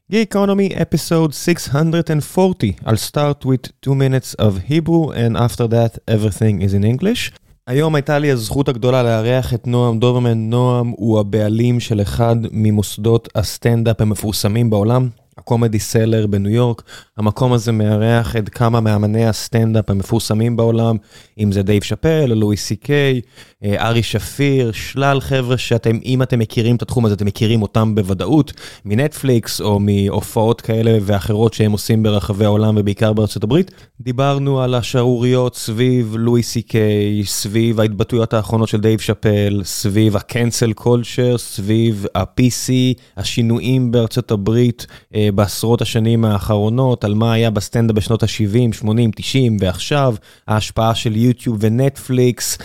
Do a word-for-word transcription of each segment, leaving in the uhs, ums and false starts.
Geekonomy episode six hundred forty. I'll start with two minutes of Hebrew and after that everything is in English. היום הייתה לי הזכות הגדולה לארח את נועם דוברמן. נועם הוא הבעלים של אחד ממוסדות הסטנדאפ המפורסמים בעולם, הקומדי סלר בניו יורק. המקום הזה מארח את כמה מאמני הסטנדאפ המפורסמים בעולם, אם זה דייב שאפל, לואי סי קיי, ארי שפיר, שלל חבר'ה שאתם, אם אתם מכירים את התחום הזה, אתם מכירים אותם בוודאות, מנטפליקס או מהופעות כאלה ואחרות שהם עושים ברחבי העולם ובעיקר בארצות הברית. דיברנו על השערוריות סביב לואי סי קיי, סביב ההתבטאויות האחרונות של דייב שאפל, סביב הקנסל קולצ'ר, סביב ה-פי סי, השינויים בארצות הברית בעשרות השנים האחרונות, על מה היה בסטנדאפ בשנות ה-שבעים, שמונים, תשעים ועכשיו, ההשפעה של יוטיוב ונטפליקס,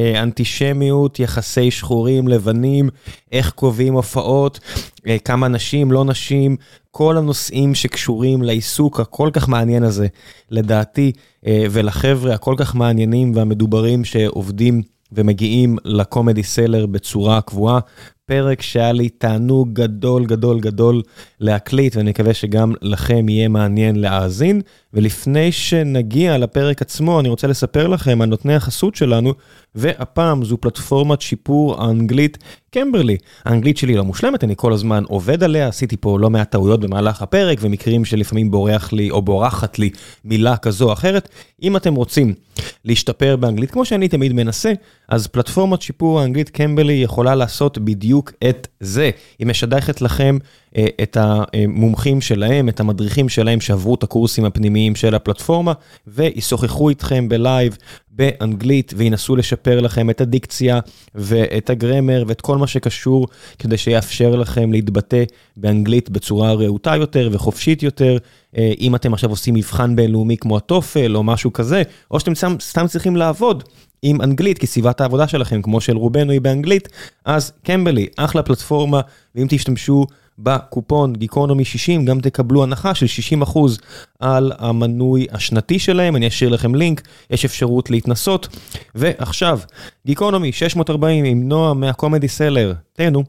אנטישמיות, יחסי שחורים, לבנים, איך קובעים הופעות, כמה נשים, לא נשים, כל הנושאים שקשורים לעיסוק הכל כך מעניין הזה, לדעתי, ולחבר'ה הכל כך מעניינים והמדוברים שעובדים ומגיעים לקומדי סלר בצורה קבועה. פרק שהיה לי תענוג גדול גדול גדול להקליט, ואני מקווה שגם לכם יהיה מעניין להאזין. ולפני שנגיע לפרק עצמו, אני רוצה לספר לכם על נותני החסות שלנו, והפעם זו פלטפורמת שיפור האנגלית קמברלי. האנגלית שלי לא מושלמת, אני כל הזמן עובד עליה, עשיתי פה לא מעט טעויות במהלך הפרק, ומקרים שלפעמים בורח לי או בורחת לי מילה כזו או אחרת. אם אתם רוצים להשתפר באנגלית, כמו שאני תמיד מנסה, אז פלטפורמת שיפור האנגלית קמברלי יכולה לעשות בדיוק את זה. היא משדכת לכם את המומחים שלהם, את המדריכים שלהם שעברו את הקורסים הפנימיים של הפלטפורמה, וישוחחו איתכם בלייב באנגלית, וינסו לשפר לכם את הדיקציה ואת הגרמר ואת כל מה שקשור, כדי שיאפשר לכם להתבטא באנגלית בצורה רהוטה יותר וחופשית יותר. אם אתם עכשיו עושים מבחן בינלאומי כמו הטופל או משהו כזה, או שאתם סתם, סתם צריכים לעבוד עם אנגלית, כי סביבת העבודה שלכם, כמו של רובנו היא באנגלית, אז קמברלי, אחלה פלטפורמה, ואם תשתמשו בקופון גיקונומי שישים, גם תקבלו הנחה של שישים אחוז על המנוי השנתי שלהם. אני אשאיר לכם לינק, יש אפשרות להתנסות. ועכשיו, גיקונומי שש מאות ארבעים עם נועם מהקומדי סלר. תהנו.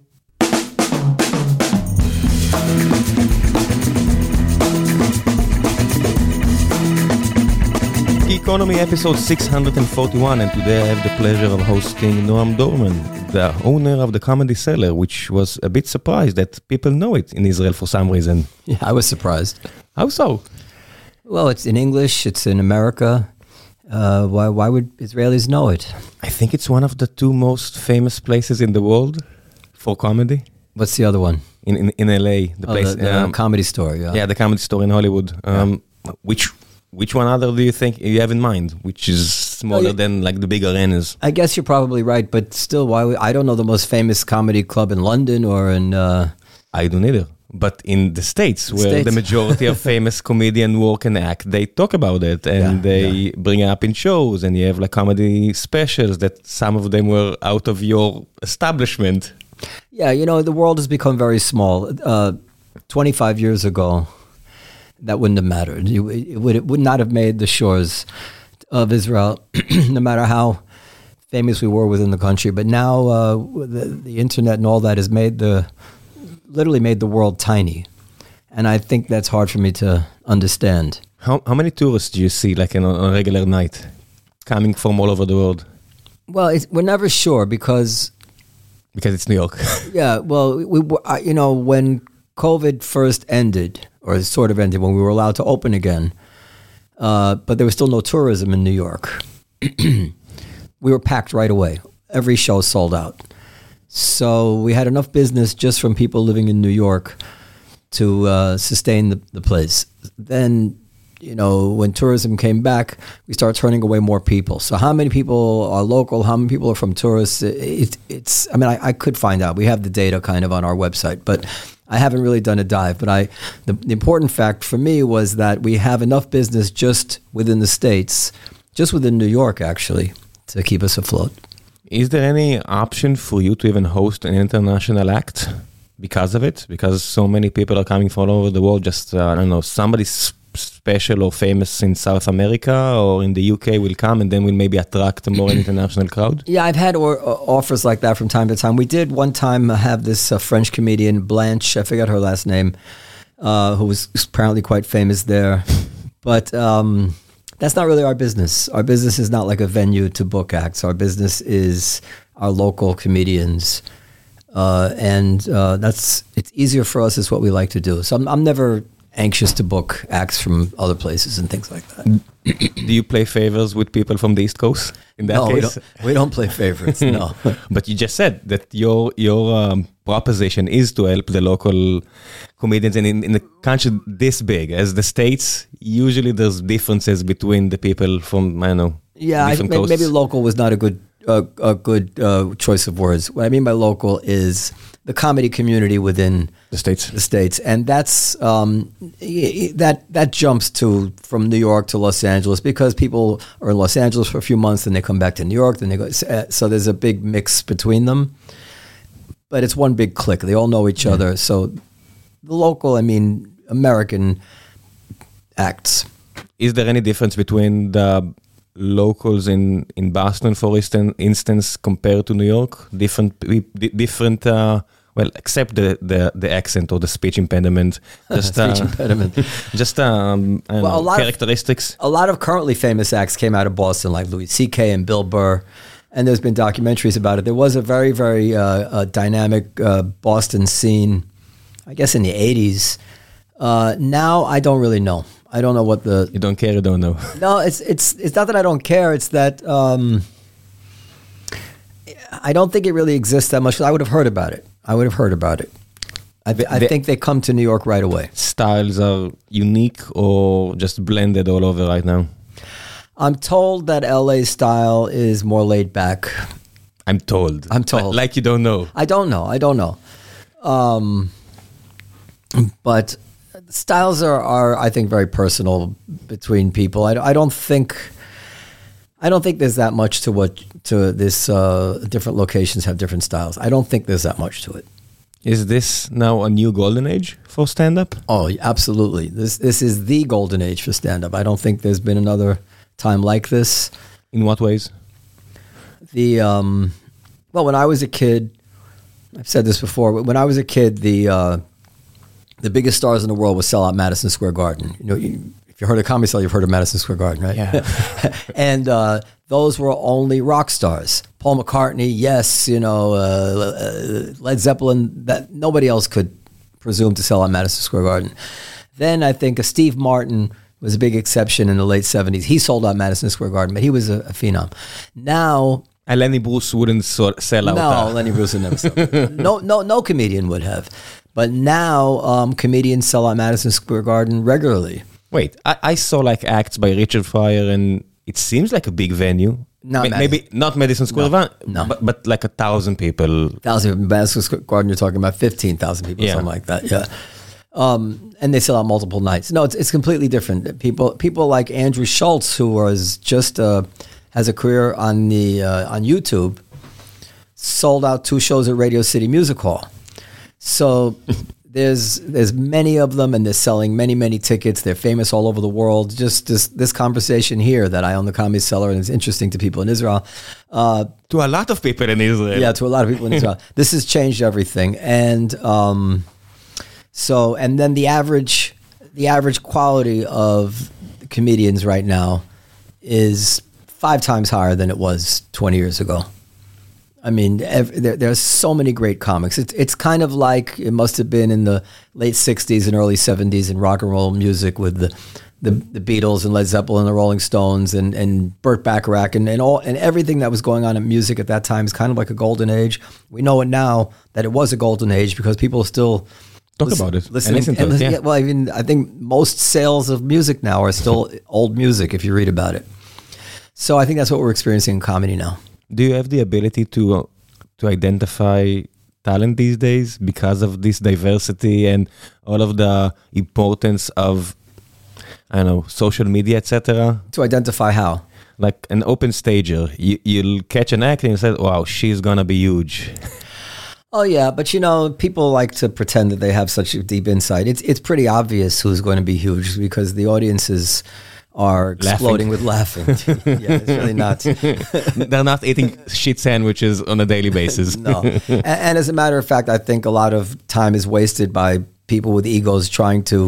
Geekonomy episode six hundred forty-one, and today I have the pleasure of hosting Noam Dorman, the owner of the Comedy Cellar, which was a bit surprised that people know it in Israel for some reason. Yeah, I was surprised. How so? Well, it's in English, it's in America. Uh, why, why would Israelis know it? I think it's one of the two most famous places in the world for comedy. What's the other one? In in, in L A, the oh, place. The, the um, Comedy Store, yeah. Yeah, the Comedy Store in Hollywood. Um, yeah. Which... Which one other do you think you have in mind, which is smaller well, than like the big arenas? I guess you're probably right, but still, why? Would, I don't know the most famous comedy club in London or in... Uh, I don't either. But in the States, the where States. the majority of famous comedians work and act, they talk about it and yeah, they yeah. bring it up in shows, and you have like comedy specials that some of them were out of your establishment. Yeah, you know, the world has become very small. Uh, twenty-five years ago, that wouldn't have mattered. It, it, would, it would not have made the shores of Israel, no matter how famous we were within the country. But now uh, the, the internet and all that has made the, literally made the world tiny. And I think that's hard for me to understand. How how many tourists do you see like in, on a regular night coming from all over the world? Well, it's, we're never sure because... Because it's New York. Yeah, well, we, we you know, when COVID first ended, or sort of ended, when we were allowed to open again, uh, but there was still no tourism in New York. We were packed right away. Every show sold out. So we had enough business just from people living in New York to uh, sustain the, the place. Then, you know, when tourism came back, we started turning away more people. So how many people are local? How many people are from tourists? It, it's, I mean, I, I could find out. We have the data kind of on our website, but I haven't really done a dive. But I, the, the important fact for me was that we have enough business just within the States, just within New York, actually, to keep us afloat. Is there any option for you to even host an international act because of it? Because so many people are coming from all over the world, just, uh, I don't know, somebody's special or famous in South America or in the U K will come and then will maybe attract a more international crowd? Yeah, I've had or, uh, offers like that from time to time. We did one time have this uh, French comedian, Blanche, I forgot her last name. uh, who was apparently quite famous there. But um, that's not really our business. Our business is not like a venue to book acts. Our business is our local comedians. Uh, and uh, that's it's easier for us. Is what we like to do. So I'm, I'm never anxious to book acts from other places and things like that. Do you play favors with people from the East Coast? In that no, case, we don't, we don't play favorites. No, but you just said that your your um, proposition is to help the local comedians, and in, in a country this big as the States, usually there's differences between the people from I don't know. Yeah, I, maybe, maybe local was not a good uh, a good uh, choice of words. What I mean by local is the comedy community within the states. The states, and that's um, that that jumps to from New York to Los Angeles because people are in Los Angeles for a few months, then they come back to New York, then they go. So there's a big mix between them, but it's one big clique. They all know each mm. other. So the local, I mean, American acts. Is there any difference between the locals in, in Boston, for instance, compared to New York? Different, different. Uh, well, except the, the, the accent or the speech impediment. Just, speech uh, impediment. Just um, I don't well, know, a lot characteristics. Of, a lot of currently famous acts came out of Boston, like Louis C K and Bill Burr, and there's been documentaries about it. There was a very, very uh, uh, dynamic uh, Boston scene, I guess, in the eighties. Uh, now, I don't really know. I don't know what the... You don't care, you don't know. No, it's it's it's not that I don't care. It's that um, I don't think it really exists that much. I would have heard about it. I would have heard about it. I, I the, think they come to New York right away. Styles are unique or just blended all over right now? I'm told that L A style is more laid back. I'm told. I'm told. Like you don't know. I don't know. I don't know. Um, but... Styles are, are, I think, very personal between people. I, I don't think, I don't think there's that much to what to this. Uh, different locations have different styles. I don't think there's that much to it. Is this now a new golden age for stand-up? Oh, absolutely. This this is the golden age for stand-up. I don't think there's been another time like this. In what ways? The um, well, when I was a kid, I've said this before. But when I was a kid, the uh, The biggest stars in the world would sell out Madison Square Garden. You know, you, if you heard of Comedy Cellar, you've heard of Madison Square Garden, right? Yeah. And uh, those were only rock stars. Paul McCartney, yes, you know, uh, Led Zeppelin. That nobody else could presume to sell out Madison Square Garden. Then I think uh, Steve Martin was a big exception in the late seventies. He sold out Madison Square Garden, but he was a, a phenom. Now. And Lenny Bruce wouldn't so- sell out. No, uh, Lenny Bruce would never sell out. No, no, no comedian would have. But now um, comedians sell out Madison Square Garden regularly. Wait, I, I saw like acts by Richard Pryor, and it seems like a big venue. Not Ma- maybe not Madison Square Garden, no, no. but, but like a thousand people. Thousand Madison Square Garden, you're talking about fifteen thousand people, yeah. something like that. Yeah, um, and they sell out multiple nights. No, it's it's completely different. People people like Andrew Schultz, who was just uh, has a career on the uh, on YouTube, sold out two shows at Radio City Music Hall. So there's there's many of them, and they're selling many, many tickets. They're famous all over the world. Just this, this conversation here that I own the Comedy Cellar, and it's interesting to people in Israel. Uh, to a lot of people in Israel. Yeah, to a lot of people in Israel. This has changed everything. And um, so, and then the average, the average quality of comedians right now is five times higher than it was twenty years ago. I mean, every, there, there's so many great comics. It's it's kind of like it must have been in the late sixties and early seventies in rock and roll music with the the, the Beatles and Led Zeppelin and the Rolling Stones and, and Burt Bacharach and, and all and everything that was going on in music at that time is kind of like a golden age. We know it now that it was a golden age because people still talk listen, about it. Listen, and listen to and it. listen, Yeah. Well, even I think most sales of music now are still old music if you read about it. So I think that's what we're experiencing in comedy now. Do you have the ability to uh, to identify talent these days because of this diversity and all of the importance of, I don't know, social media, et cetera? To identify how? Like an open stager, you, you'll catch an act and you say, "Wow, she's gonna be huge." Oh yeah, but you know, people like to pretend that they have such a deep insight. It's it's pretty obvious who's going to be huge because the audiences are exploding laughing. with laughing. Yeah, it's really not. They're not eating shit sandwiches on a daily basis. No. And, and as a matter of fact, I think a lot of time is wasted by people with egos trying to,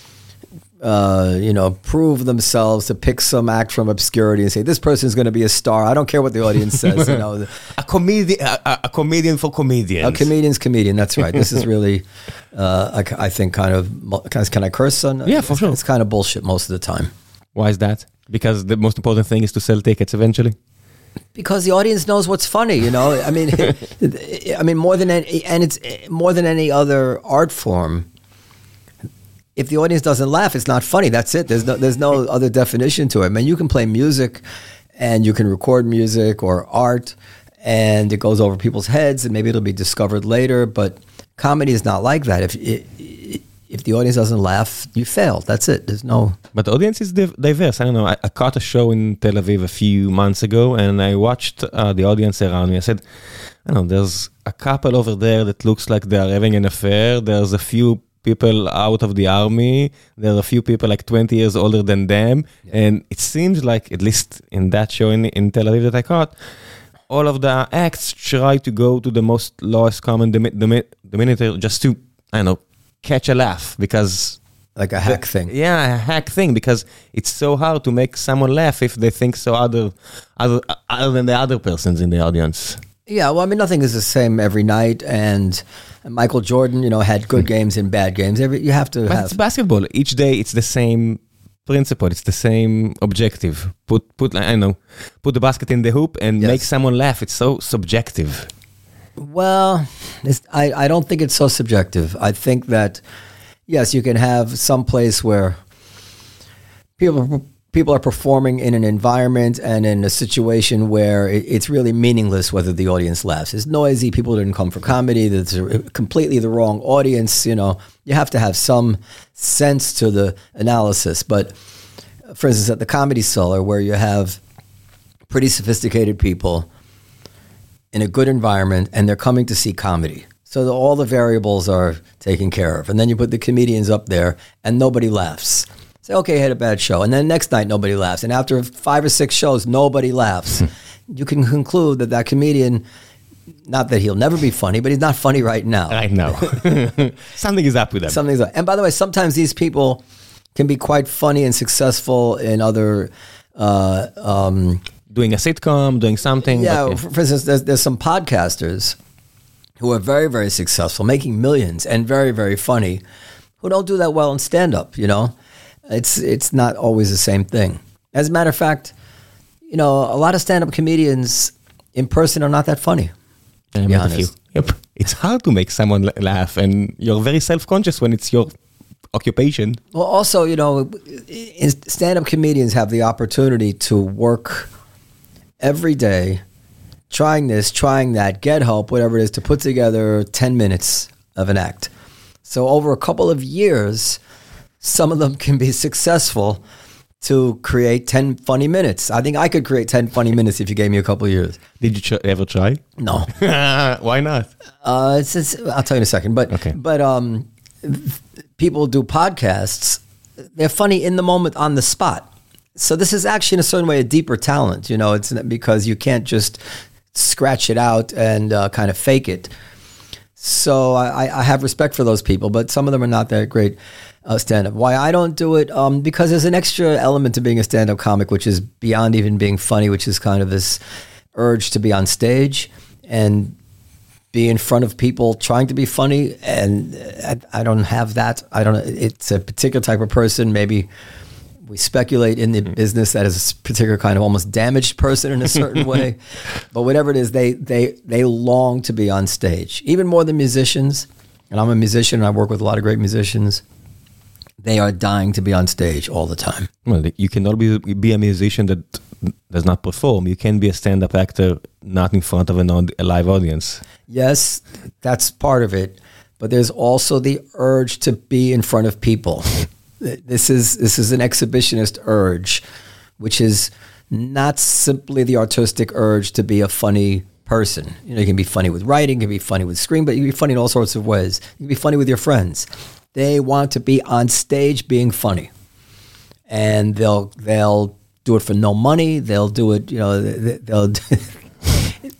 uh, you know, prove themselves, to pick some act from obscurity and say, this person's going to be a star. I don't care what the audience says. You know, a comedian, a, a comedian for comedians. A comedian's comedian. That's right. This is really, uh, I, I think, kind of. Can I curse on? Yeah, for it's, sure. It's kind of bullshit most of the time. Why is that? Because the most important thing is to sell tickets eventually. Because the audience knows what's funny, you know. I mean, I mean more than any, and it's more than any other art form. If the audience doesn't laugh, it's not funny. That's it. There's no, there's no other definition to it. I mean, you can play music, and you can record music or art, and it goes over people's heads, and maybe it'll be discovered later. But comedy is not like that. If it, if the audience doesn't laugh, you failed. That's it. There's no. But the audience is div- diverse. I don't know. I, I caught a show in Tel Aviv a few months ago, and I watched uh, the audience around me. I said, I don't know, there's a couple over there that looks like they are having an affair. There's a few people out of the army. There are a few people like twenty years older than them. Yeah. And it seems like, at least in that show in, in Tel Aviv that I caught, all of the acts try to go to the most lowest common denominator just to, I don't know, catch a laugh, because... Like a hack the, thing. Yeah, a hack thing, because it's so hard to make someone laugh if they think so other, other, other than the other persons in the audience. Yeah, well, I mean, nothing is the same every night, and Michael Jordan, you know, had good games and bad games. Every you have to but have... It's basketball. Each day, it's the same principle. It's the same objective. Put, put, I don't know, put the basket in the hoop and yes. make someone laugh. It's so subjective. Well, it's, I, I don't think it's so subjective. I think that, yes, you can have some place where people... People are performing in an environment and in a situation where it's really meaningless whether the audience laughs. It's noisy. People didn't come for comedy. That's completely the wrong audience. You know, you have to have some sense to the analysis. But for instance, at the Comedy Cellar, where you have pretty sophisticated people in a good environment and they're coming to see comedy. So the, all the variables are taken care of. And then you put the comedians up there and nobody laughs. Say, okay, I had a bad show. And then next night, nobody laughs. And after five or six shows, nobody laughs. You can conclude that that comedian, not that he'll never be funny, but he's not funny right now. I know. Something is up with them. Something's up. And by the way, sometimes these people can be quite funny and successful in other... Uh, um, doing a sitcom, doing something. Yeah, but, yeah. For, for instance, there's, there's some podcasters who are very, very successful, making millions and very, very funny, who don't do that well in stand-up, you know? It's it's not always the same thing. As a matter of fact, you know, a lot of stand-up comedians in person are not that funny. To be honest. Yep. It's hard to make someone laugh, and you're very self-conscious when it's your occupation. Well, also, you know, stand-up comedians have the opportunity to work every day, trying this, trying that, get help, whatever it is, to put together ten minutes of an act. So over a couple of years... Some of them can be successful to create ten funny minutes. I think I could create ten funny minutes if you gave me a couple of years. Did you ch- ever try? No. Why not? Uh, it's, it's, I'll tell you in a second. But okay. but um, people do podcasts. They're funny in the moment, on the spot. So this is actually in a certain way a deeper talent. You know, it's because you can't just scratch it out and uh, kind of fake it. So I, I have respect for those people, but some of them are not that great. Uh, stand-up. Why I don't do it? Um, because there's an extra element to being a stand-up comic, which is beyond even being funny, which is kind of this urge to be on stage and be in front of people trying to be funny. And I, I don't have that. I don't. It's a particular type of person. Maybe we speculate in the business that is a particular kind of almost damaged person in a certain way. But whatever it is, they they they long to be on stage, even more than musicians. And I'm a musician, and I work with a lot of great musicians. They are dying to be on stage all the time. Well, you cannot be, be a musician that does not perform. You can be a stand-up actor not in front of an, a live audience. Yes, that's part of it. But there's also the urge to be in front of people. This is this is an exhibitionist urge, which is not simply the artistic urge to be a funny person. You know, you can be funny with writing, you can be funny with screen, but you can be funny in all sorts of ways. You can be funny with your friends. They want to be on stage being funny, and they'll they'll do it for no money. They'll do it, you know. They'll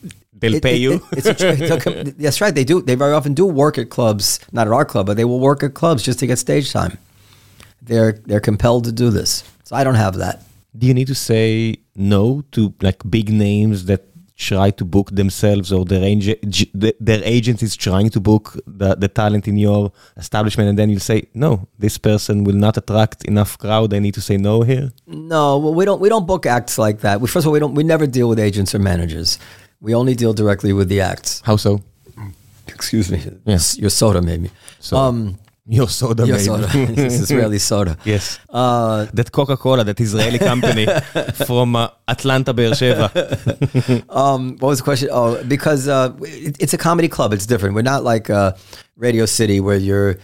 they'll It- pay it- you. it- it's a, tr- it's a com- that's right. They do. They very often do work at clubs, not at our club, but they will work at clubs just to get stage time. They're they're compelled to do this. So I don't have that. Do you need to say no to like big names that try to book themselves, or their, ag- g- the- their agent is trying to book the, the talent in your establishment, and then you'll say, no, this person will not attract enough crowd. I need to say no here. No, well, we don't we don't book acts like that. We, first of all, we don't we never deal with agents or managers. We only deal directly with the acts. How so? Excuse me. Yes. Your soda made me. So, Um, your soda your made. soda. This is Israeli soda. Yes. Uh, That Coca-Cola, that Israeli company from uh, Atlanta, Be'er Sheva. um, what was the question? Oh, because uh, it, it's a comedy club. It's different. We're not like uh, Radio City where you're,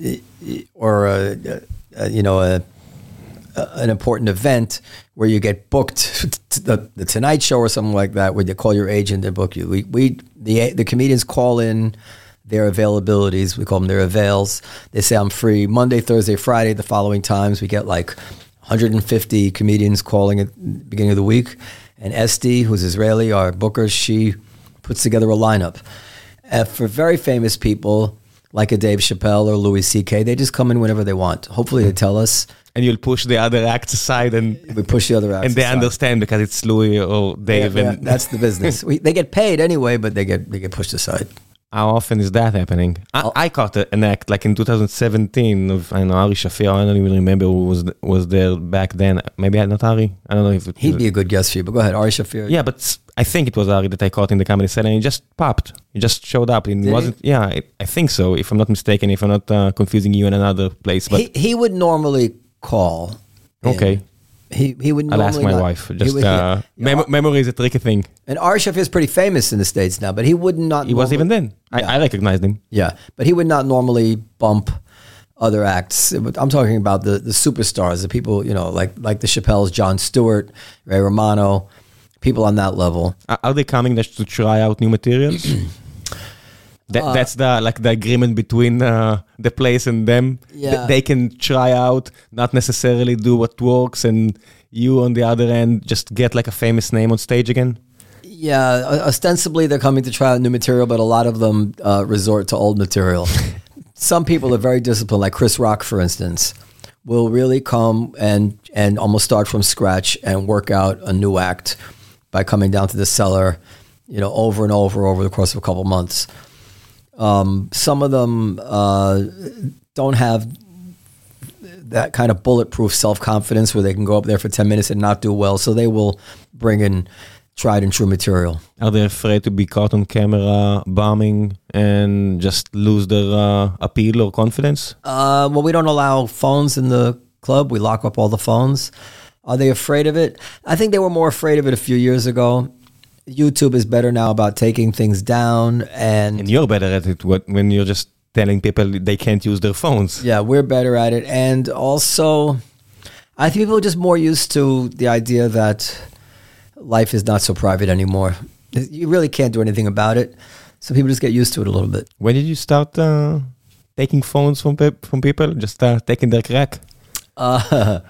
or uh, uh, you know, a, a, an important event where you get booked to the, the Tonight Show or something like that, where you call your agent and book you. We we the the comedians call in their availabilities. We call them their avails. They say, I'm free Monday, Thursday, Friday. The following times we get like one hundred fifty comedians calling at the beginning of the week. And Esti, who's Israeli, our booker, she puts together a lineup. Uh, for very famous people, like a Dave Chappelle or Louis C K, they just come in whenever they want. Hopefully they tell us. And you'll push the other acts aside, and We push the other acts and they aside. understand because it's Louis or Dave. Yeah, and that's the business. We, they get paid anyway, but they get they get pushed aside. How often is that happening? I, I caught a- an act like in two thousand seventeen of, I don't know, Ari Shafir. I don't even remember who was was there back then. Maybe not Ari. I don't know if it He'd be a good guest for you, but go ahead, Ari Shafir. Yeah, but s- I think it was Ari that I caught in the comedy set, and he just popped. He just showed up. It Did he? wasn't. Yeah, I, I think so. If I'm not mistaken, if I'm not uh, confusing you in another place, but he he would normally call. in. okay, He he would. I'll Normally ask my not- wife. he Just would- uh, yeah. mem- memory is a tricky thing. And Ari Shafir is pretty famous in the States now, but he would not. He was normally- even then. I, I recognized him. Yeah, but he would not normally bump other acts. I'm talking about the the superstars, the people, you know, like like the Chappelles, Jon Stewart, Ray Romano, people on that level. Are are they coming just to try out new materials? That, Uh, that's the like the agreement between uh, the place and them. Yeah. Th- they can try out, not necessarily do what works, and you on the other end just get like a famous name on stage again. Yeah, o- ostensibly they're coming to try out new material, but a lot of them uh, resort to old material. Some people are very disciplined, like Chris Rock, for instance, will really come and and almost start from scratch and work out a new act by coming down to the cellar, you know, over and over over the course of a couple months. Um, some of them uh, don't have that kind of bulletproof self-confidence where they can go up there for ten minutes and not do well, so they will bring in tried and true material. Are they afraid to be caught on camera bombing and just lose their uh, appeal or confidence? Uh, well, we don't allow phones in the club. We lock up all the phones. Are they afraid of it? I think they were more afraid of it a few years ago. YouTube is better now about taking things down, and, And you're better at it what- when you're just telling people they can't use their phones. yeah, we're better at it. And also, I think people are just more used to the idea that life is not so private anymore. You really can't do anything about it, so people just get used to it a little bit. When did you start uh, taking phones from pe- from people? Just uh, taking their crack? Uh,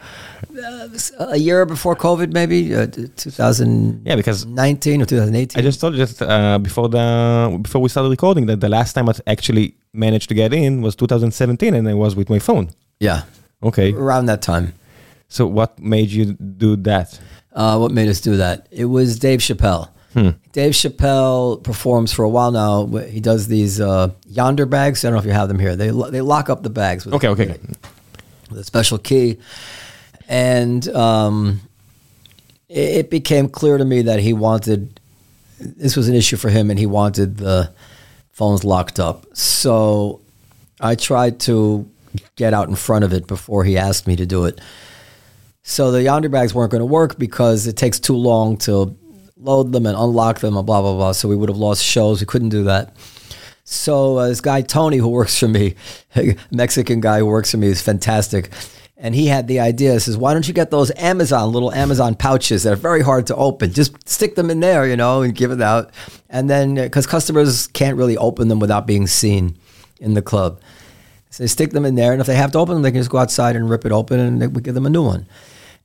a year before COVID, maybe uh, two thousand Yeah, because nineteen or two thousand eighteen. I just told you that uh, before the before we started recording that the last time I actually managed to get in was two thousand seventeen, and I was with my phone. Yeah, Okay, around that time. so what made you do that? Uh, what made us do that? It was Dave Chappelle. Hmm. Dave Chappelle performs for a while now. He does these uh, Yonder bags. I don't know if you have them here. They lo- they lock up the bags with, Okay, okay. with a special key. And um, it, it became clear to me that he wanted, this was an issue for him, and he wanted the phones locked up. So I tried to get out in front of it before he asked me to do it. So the Yonder bags weren't going to work because it takes too long to load them and unlock them and blah, blah, blah. So we would have lost shows. We couldn't do that. So uh, this guy, Tony, who works for me, a Mexican guy who works for me, is fantastic. And he had the idea, he says, why don't you get those Amazon, little Amazon pouches that are very hard to open? Just stick them in there, you know, and give it out. And then, because customers can't really open them without being seen in the club. So they stick them in there, and if they have to open them, they can just go outside and rip it open, and they, we give them a new one.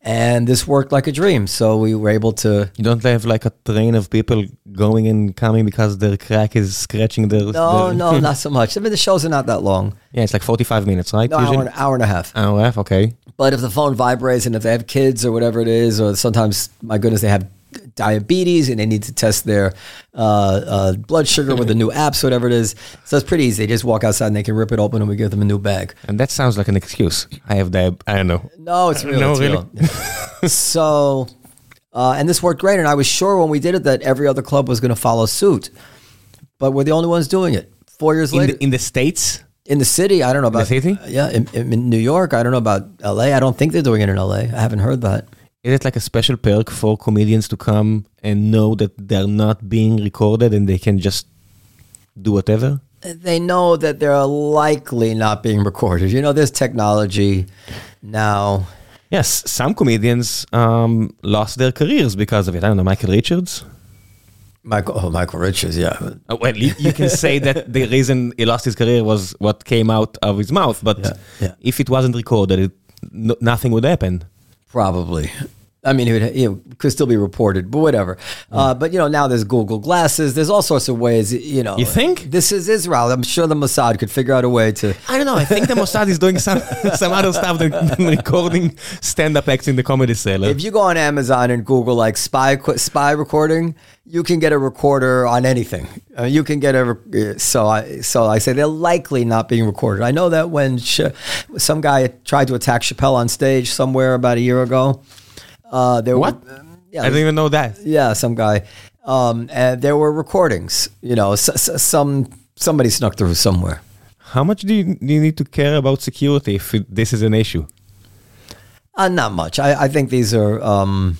And this worked like a dream. So we were able to... You don't have like a train of people going and coming because their crack is scratching their... No, their... no, not so much. I mean, the shows are not that long. Yeah, it's like forty-five minutes, right? No, hour and, hour and a half. Hour and a half, okay. But if the phone vibrates and if they have kids or whatever it is, or sometimes, my goodness, they have diabetes and they need to test their uh, uh, blood sugar with the new apps, whatever it is. So it's pretty easy. They just walk outside and they can rip it open and we give them a new bag. And that sounds like an excuse. I have diabetes. I don't know. No, it's real. No, it's really? real. So, uh, and this worked great. And I was sure when we did it that every other club was going to follow suit. But we're the only ones doing it. Four years in later. The, in the States? In the city, I don't know about... The city? Uh, yeah, in, in New York, I don't know about L A. I don't think they're doing it in L A. I haven't heard that. Is it like a special perk for comedians to come and know that they're not being recorded and they can just do whatever? They know that they're likely not being recorded. You know, there's technology now. Yes, some comedians um, lost their careers because of it. I don't know, Michael Richards? Michael, oh, Michael Richards, yeah. Uh, well, you, you can say that the reason he lost his career was what came out of his mouth, but yeah, yeah. if it wasn't recorded, it, no, nothing would happen. Probably. I mean, it, would, you know, could still be reported, but whatever. Mm. Uh, but, you know, now there's Google Glasses. There's all sorts of ways, you know. You think? This is Israel. I'm sure the Mossad could figure out a way to... I don't know. I think the Mossad is doing some some other stuff than, than recording stand-up acts in the Comedy Cellar. If you go on Amazon and Google, like, spy spy recording, you can get a recorder on anything. Uh, you can get a... So I, so I say they're likely not being recorded. I know that when Ch- some guy tried to attack Chappelle on stage somewhere about a year ago... Uh, there what? Were, um, yeah, I didn't even know that. Yeah, some guy. Um, and there were recordings. You know, s- s- some somebody snuck through somewhere. How much do you, do you need to care about security if it, this is an issue? Uh, not much. I, I think these are um,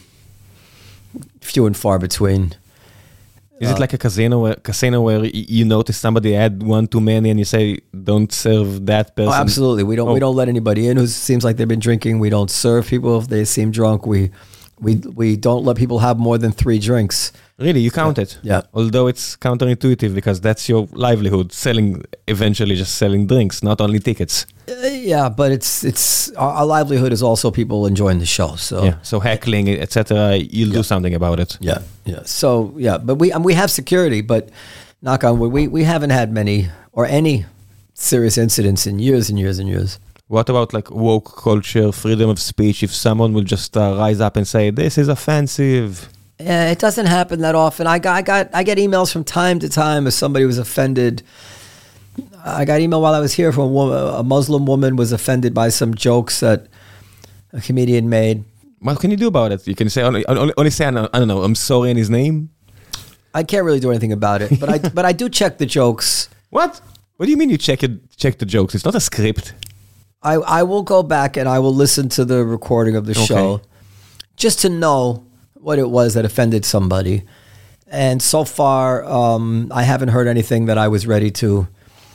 few and far between. Is uh, it like a casino where, casino where you notice somebody had one too many and you say, don't serve that person? Oh, absolutely. We don't. Oh. We don't let anybody in who seems like they've been drinking. We don't serve people if they seem drunk. We, we, we don't let people have more than three drinks. Really, you count yeah. it? Yeah. Although it's counterintuitive because that's your livelihood, selling, eventually just selling drinks, not only tickets. Uh, yeah, but it's it's our, our livelihood is also people enjoying the show. So yeah, so heckling, et cetera. You'll yeah. do something about it. Yeah, yeah. So yeah, but we um, we have security, but knock on wood, we we haven't had many or any serious incidents in years and years and years. What about like woke culture, freedom of speech? If someone will just uh, rise up and say this is offensive. Yeah, it doesn't happen that often. I got I got I get emails from time to time if somebody was offended. I got email while I was here from a, woman, a Muslim woman was offended by some jokes that a comedian made. What can you do about it? You can say only, only, only say I don't know. I'm sorry in his name. I can't really do anything about it, but I but I do check the jokes. What? What do you mean you check it? Check the jokes? It's not a script. I I will go back and I will listen to the recording of the okay. show, just to know what it was that offended somebody. And so far, um, I haven't heard anything that I was ready to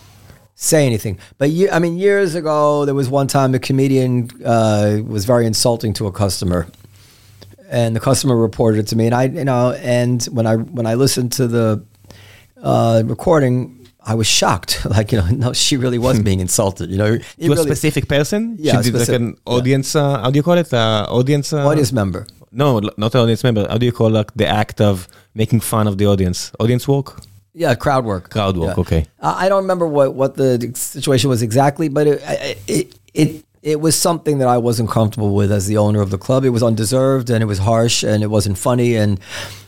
say anything. But ye- I mean, years ago, there was one time a comedian uh, was very insulting to a customer, and the customer reported it to me. And I, you know, and when I when I listened to the uh, recording, I was shocked. Like, you know, no, she really was being insulted. You know, to a really, specific person. Yeah, she did specific, like an audience. Yeah. Uh, how do you call it? Uh, audience. Uh, audience member. No, not an audience member. How do you call like the act of making fun of the audience? Audience work. Yeah, crowd work. Crowd work, yeah. okay. Uh, I don't remember what, what the situation was exactly, but it, it it it was something that I wasn't comfortable with as the owner of the club. It was undeserved, and it was harsh, and it wasn't funny, and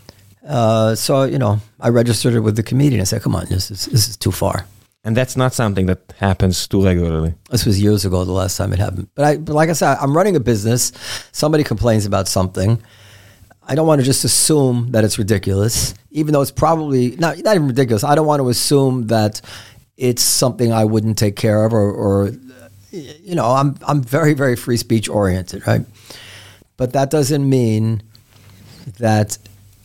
uh, so you know, I registered it with the comedian. I said, "Come on, this is this is too far." And that's not something that happens too regularly. This was years ago, the last time it happened. But I, but like I said, I'm running a business. Somebody complains about something. I don't want to just assume that it's ridiculous, even though it's probably not, not even ridiculous. I don't want to assume that it's something I wouldn't take care of, or, or you know, I'm I'm very, very free speech oriented, right? But that doesn't mean that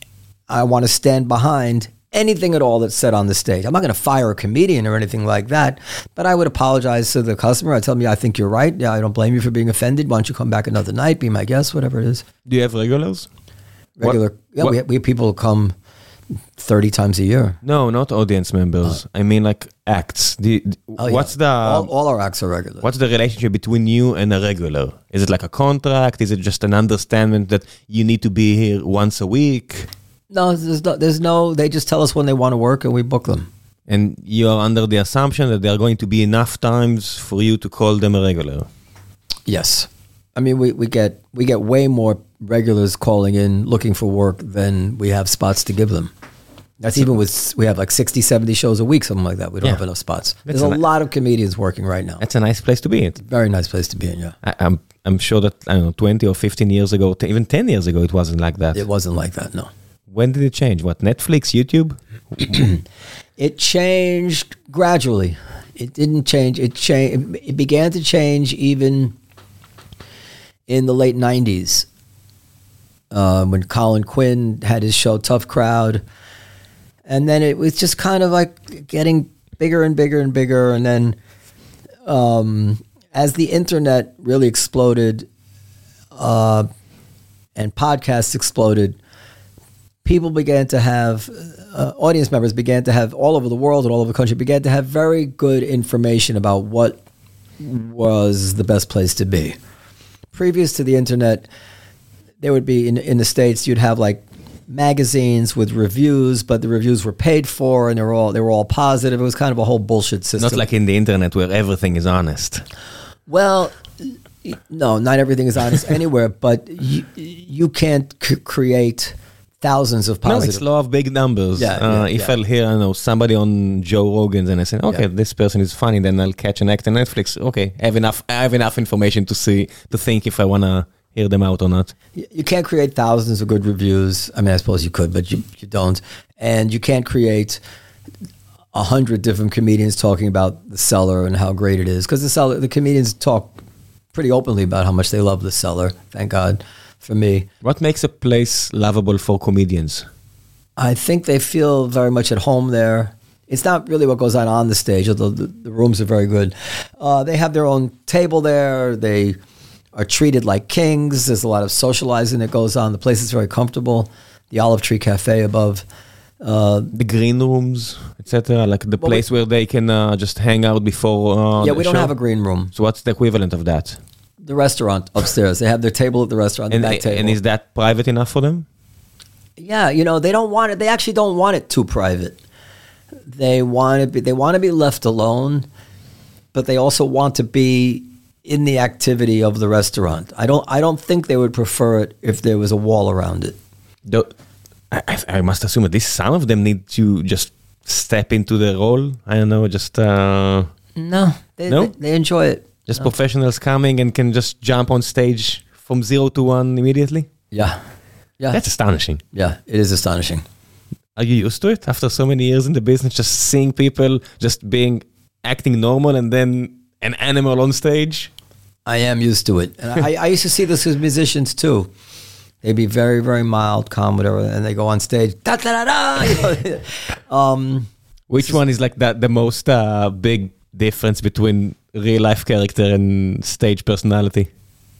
I want to stand behind anything at all that's said on the stage. I'm not going to fire a comedian or anything like that, but I would apologize to the customer. I tell them, yeah, I think you're right. Yeah, I don't blame you for being offended. Why don't you come back another night, be my guest, whatever it is. Do you have regulars? Regular, what, yeah, what? We, have, we have people come thirty times a year. No, not audience members. Uh, I mean like acts. The, the, oh, what's yeah. the... All, all our acts are regular. What's the relationship between you and a regular? Is it like a contract? Is it just an understanding that you need to be here once a week? No, there's no, there's no, they just tell us when they want to work and we book them. And you are under the assumption that there are going to be enough times for you to call them a regular. Yes. I mean, we, we get we get way more regulars calling in looking for work than we have spots to give them. That's, That's even a, with, we have like sixty, seventy shows a week, something like that. We don't yeah. have enough spots. That's There's a, a lot of comedians working right now. That's a nice place to be in. Very nice place to be in, yeah. I, I'm I'm sure that, I don't know, twenty or fifteen years ago, t- even ten years ago, it wasn't like that. It wasn't like that, no. When did it change? What, Netflix, YouTube? It changed gradually. It didn't change. It changed. It began to change even in the late nineties uh, when Colin Quinn had his show Tough Crowd. And then it was just kind of like getting bigger and bigger and bigger. And then um, as the internet really exploded uh, and podcasts exploded, people began to have, uh, audience members began to have all over the world and all over the country, began to have very good information about what was the best place to be. Previous to the internet, there would be, in, in the States, you'd have like magazines with reviews, but the reviews were paid for and they were all they were all positive. It was kind of a whole bullshit system. Not like in the internet where everything is honest. Well, no, not everything is honest anywhere, but you, you can't c- create thousands of positive. No, it's law of big numbers. Yeah, uh, yeah, if yeah. I'll hear, I don't know, somebody on Joe Rogan's and I say, okay, yeah. this person is funny, then I'll catch an act on Netflix. Okay, I have enough. I have enough information to see to think if I want to hear them out or not. You can't create thousands of good reviews. I mean, I suppose you could, but you, you don't. And you can't create a hundred different comedians talking about The Cellar and how great it is. Because the Cellar, the comedians talk pretty openly about how much they love The Cellar. Thank God for me. What makes a place lovable for comedians? I think they feel very much at home there. It's not really what goes on on the stage, although the, the rooms are very good. Uh, they have their own table there. They are treated like kings. There's a lot of socializing that goes on. The place is very comfortable. The Olive Tree Cafe above. Uh, the green rooms, et cetera. Like the well, place we, where they can uh, just hang out before uh, Yeah, the we don't show. have a green room. So what's the equivalent of that? The restaurant upstairs. They have their table at the restaurant, and, the back table. And is that private enough for them? Yeah, you know, they don't want it. They actually don't want it too private. They want to be, they want to be left alone, but they also want to be in the activity of the restaurant. I don't I don't think they would prefer it if there was a wall around it. The, I, I must assume at least some of them need to just step into the role. I don't know, just... Uh, no, they, no? They, they enjoy it. Just no. professionals coming and can just jump on stage from zero to one immediately? Yeah. Yeah. That's astonishing. Yeah, it is astonishing. Are you used to it after so many years in the business, just seeing people just being, acting normal and then an animal on stage? I am used to it. And I, I used to see this with musicians too. They'd be very, very mild, calm, whatever, and they go on stage. Da, da, da, da, you know? um, Which one is like that the most uh, big difference between real life character and stage personality?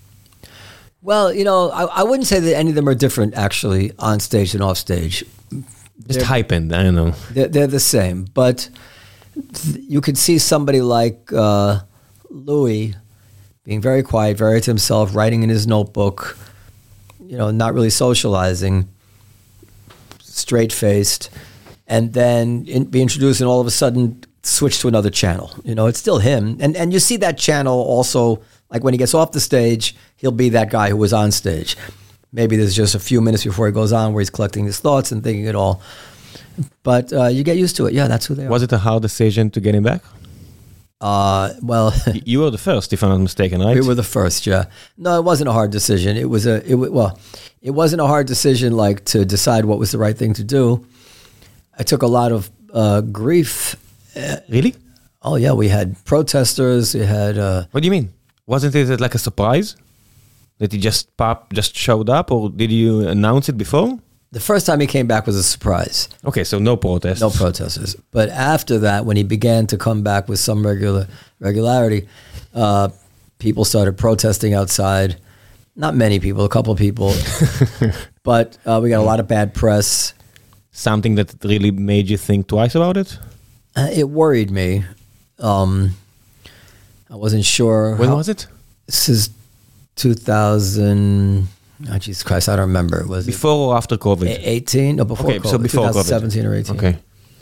Well, you know, I, I wouldn't say that any of them are different actually on stage and off stage. Just heightened, I don't know. They're, they're the same, but th- you could see somebody like uh, Louis being very quiet, very to himself, writing in his notebook, you know, not really socializing, straight-faced, and then in, be introduced and all of a sudden switch to another channel. You know, it's still him. And and you see that channel also, like when he gets off the stage, he'll be that guy who was on stage. Maybe there's just a few minutes before he goes on where he's collecting his thoughts and thinking it all. But uh, you get used to it. Yeah, that's who they are. Was it a hard decision to get him back? Uh, well, you were the first, if I'm not mistaken, right? We were the first, yeah. No, it wasn't a hard decision. It was a, it well, it wasn't a hard decision like to decide what was the right thing to do. I took a lot of uh, grief. Really? Oh yeah, we had protesters. We had. Uh, what do you mean? Wasn't it like a surprise that he just pop just showed up, or did you announce it before? The first time he came back was a surprise. Okay, so no protests. No protesters. But after that, when he began to come back with some regular regularity, uh, people started protesting outside. Not many people, a couple of people. But uh, we got a lot of bad press. Something that really made you think twice about it? Uh, it worried me. Um, I wasn't sure. When how, was it? This is two thousand, oh Jesus Christ, I don't remember. Was Before or after COVID? it eighteen? No, before Okay, COVID. so before twenty seventeen COVID. or eighteen. Okay.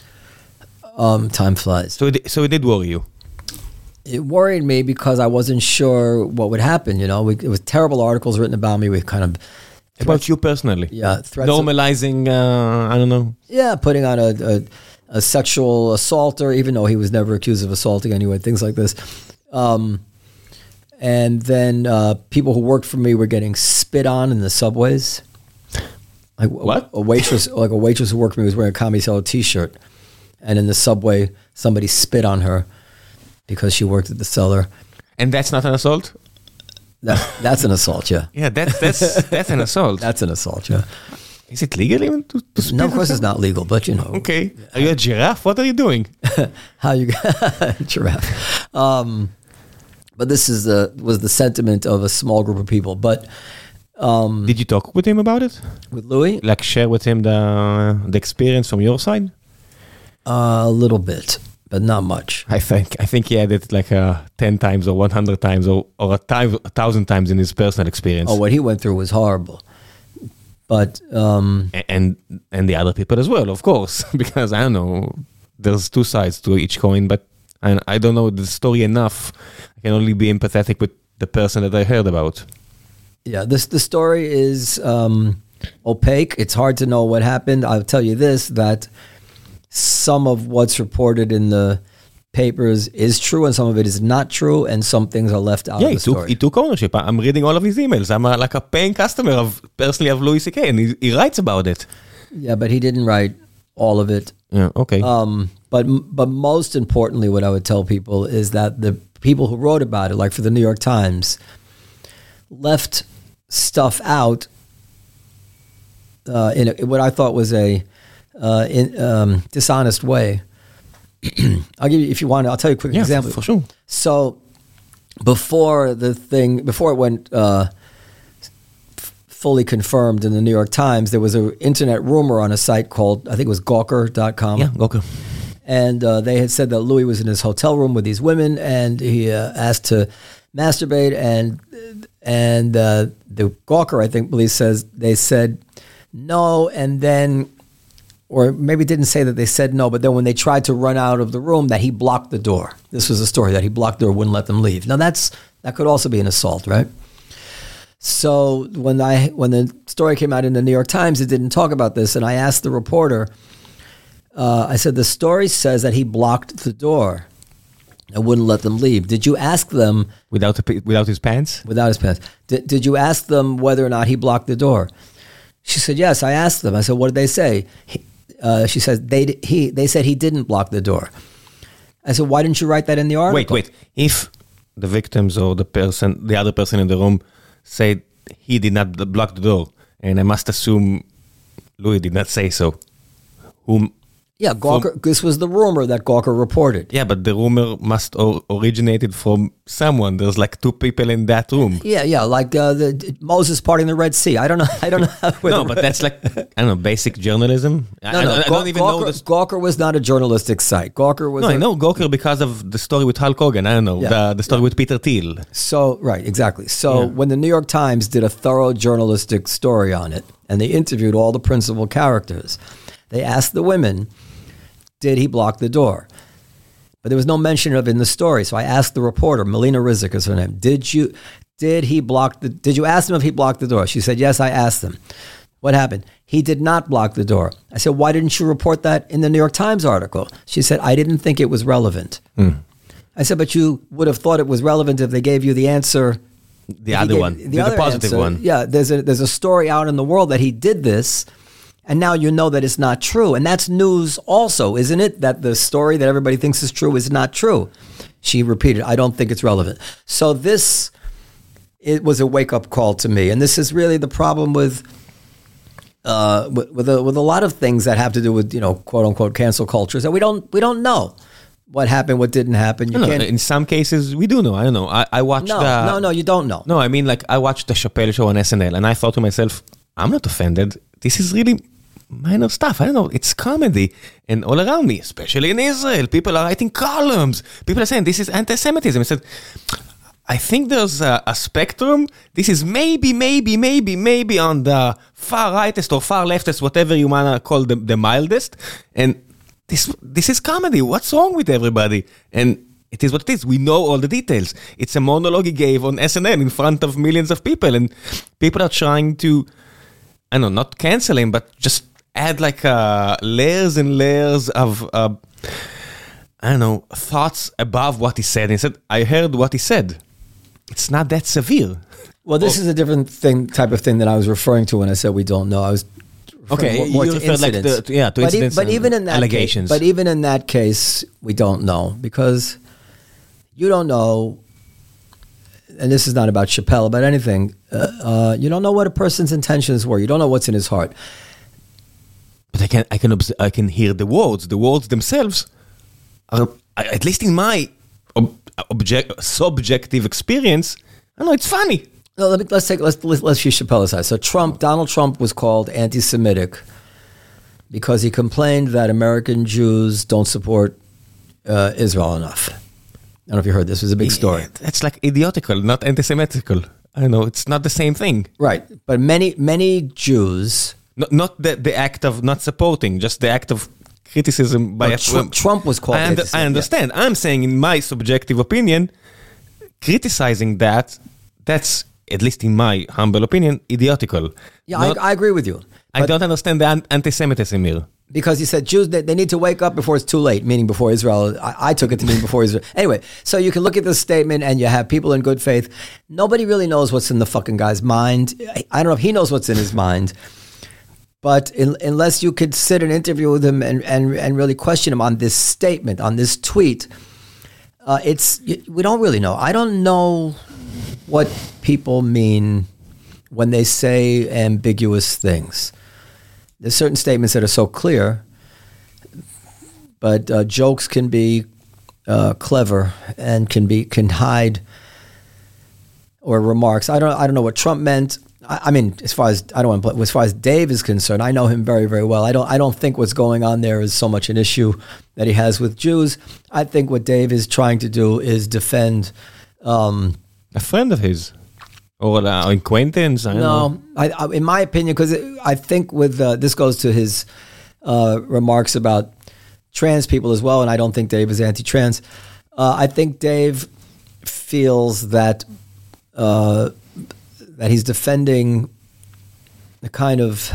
Um, time flies. So it, so it did worry you? It worried me because I wasn't sure what would happen. You know, we, it was terrible articles written about me. We kind of About you personally? yeah threats of- Normalizing, uh, I don't know. yeah, putting on a, a a sexual assaulter, even though he was never accused of assaulting anyone. Things like this. Um, and then uh, people who worked for me were getting spit on in the subways. Like What? A, a waitress, like a waitress who worked for me was wearing a Comedy Cellar T-shirt, and in the subway somebody spit on her because she worked at the cellar. And that's not an assault? That, that's an assault, yeah. Yeah, that, that's that's an assault. That's an assault, yeah. Is it legal even to, to spit? No, of course it's not legal, but you know. Okay. Are you a giraffe? What are you doing? How you giraffe? Um, but this is the was the sentiment of a small group of people. But um, Did you talk with him about it? with Louis, Like share with him the the experience from your side? uh, a little bit, but not much. I think I think he had it like uh, ten times or one hundred times or, or a, time, a thousand times in his personal experience. Oh, what he went through was horrible. But um, A- and and the other people as well, of course, because I don't know, there's two sides to each coin, but I, I don't know the story enough. I can only be empathetic with the person that I heard about. yeah, this the story is um, opaque. It's hard to know what happened. I'll tell you this: that some of what's reported in the papers is true, and some of it is not true, and some things are left out Yeah, of he the took story. he took ownership. I- I'm reading all of his emails. I'm a, like a paying customer of personally of Louis C K, and he, he writes about it. Yeah, but he didn't write all of it. Yeah, okay. Um, but but most importantly, what I would tell people is that the people who wrote about it, like for the New York Times, left stuff out uh, in, a, in what I thought was a uh, in, um, dishonest way. I'll give you, if you want, I'll tell you a quick yeah, example. for, for sure. So before the thing, before it went uh, f- fully confirmed in the New York Times, there was an internet rumor on a site called, I think it was Gawker dot com. Yeah, okay. And uh, they had said that Louis was in his hotel room with these women, and he uh, asked to masturbate. And and uh, the Gawker, I think, police says they said no, and then, or maybe didn't say that they said no, but then when they tried to run out of the room, that he blocked the door. This was a story that he blocked the door, wouldn't let them leave. Now that's that could also be an assault, right? So when I when the story came out in the New York Times, it didn't talk about this, and I asked the reporter. Uh, I said, the story says that he blocked the door and wouldn't let them leave. Did you ask them, Without, the, without his pants? without his pants, did, did you ask them whether or not he blocked the door? She said, yes, I asked them. I said, what did they say? He, uh, she said, they, he, they said he didn't block the door. I said, why didn't you write that in the article? Wait, wait. If the victims or the person, the other person in the room said he did not b- block the door, and I must assume Louis did not say so, whom... Yeah, Gawker, this was the rumor that Gawker reported. Yeah, but the rumor must or originated from someone. There's like two people in that room. Yeah, yeah, like uh, the, Moses parting the Red Sea. I don't know. I don't know. How No, but that's like, I don't know, basic journalism. I, No, I, no, I Gaw- don't even Gawker, know this. Gawker was not a journalistic site. Gawker was. No, a, I know Gawker because of the story with Hulk Hogan. I don't know, Yeah. the, the story with Peter Thiel. So, right, exactly. So, Yeah. when the New York Times did a thorough journalistic story on it, and they interviewed all the principal characters, they asked the women, did he block the door? But there was no mention of it in the story. So I asked the reporter, Melina Rizik is her name, did you, did he block the, did you ask him if he blocked the door? She said, yes, I asked him. What happened? He did not block the door. I said, why didn't you report that in the New York Times article? She said, I didn't think it was relevant. I said, but you would have thought it was relevant if they gave you the answer. The if he other gave- one, the, the positive answer. one. Yeah, there's a there's a story out in the world that he did this, and now you know that it's not true. And that's news also, isn't it? That the story that everybody thinks is true is not true. She repeated, I don't think it's relevant. So this, it was a wake-up call to me. And this is really the problem with uh, with with a, with a lot of things that have to do with, you know, quote-unquote cancel cultures that we don't we don't know what happened, what didn't happen. You No, no, can't. in some cases, we do know. I don't know. I, I watched No, the... no, no, you don't know. No, I mean, like, I watched the Chappelle show on S N L, and I thought to myself, I'm not offended. This is really minor stuff. I don't know. It's comedy. And all around me, especially in Israel, people are writing columns. People are saying, this is anti-Semitism. I said, I think there's a, a spectrum. This is maybe, maybe, maybe, maybe on the far rightest or far leftest, whatever you wanna call the, the mildest. And this this is comedy. What's wrong with everybody? And it is what it is. We know all the details. It's a monologue he gave on S N L in front of millions of people, and people are trying to, I don't know, not cancel him, but just add like uh, layers and layers of, uh, I don't know, thoughts above what he said. He said, I heard what he said. It's not that severe. Well, this oh. is a different thing, type of thing that I was referring to when I said we don't know. I was okay. More, more you to refer like incidents. the, yeah, to but incidents. E- but even in that allegations. Case, but even in that case, we don't know because you don't know. And this is not about Chappelle, about anything. Uh, uh, you don't know what a person's intentions were. You don't know what's in his heart. But I can, I can, obs- I can hear the words. The words themselves are, at least in my ob- object, subjective experience, I know it's funny. No, let me, let's take let's let's, let's use Chappelle aside. So Trump, Donald Trump, was called anti-Semitic because he complained that American Jews don't support uh, Israel enough. I don't know if you heard this. It was a big story. Yeah, that's like idiotical, not anti-Semitical. I know it's not the same thing. Right, but many many Jews. No, not the the act of not supporting, just the act of criticism by No, a Trump, Trump was called I, under, I understand. Yeah. I'm saying, in my subjective opinion, criticizing that, that's, at least in my humble opinion, idiotical. Yeah, Not, I, I agree with you. I don't understand the anti-Semitism here. Because he said Jews, they, they need to wake up before it's too late, meaning before Israel. I, I took it to mean before Israel. Anyway, so you can look at this statement and you have people in good faith. Nobody really knows what's in the fucking guy's mind. I, I don't know if he knows what's in his mind. But in, unless you could sit and interview with him and, and, and really question him on this statement, on this tweet, uh, it's we don't really know. I don't know what people mean when they say ambiguous things. There's certain statements that are so clear, but uh, jokes can be uh, clever and can be can hide, or remarks. I don't I don't know what Trump meant. I, I mean, as far as I don't want to, as far as Dave is concerned, I know him very very well. I don't I don't think what's going on there is so much an issue that he has with Jews. I think what Dave is trying to do is defend um, a friend of his. Or an acquaintance? I don't no, know. I, I, in my opinion, because I think with uh, this goes to his uh, remarks about trans people as well, and I don't think Dave is anti-trans. Uh, I think Dave feels that uh, that he's defending the kind of,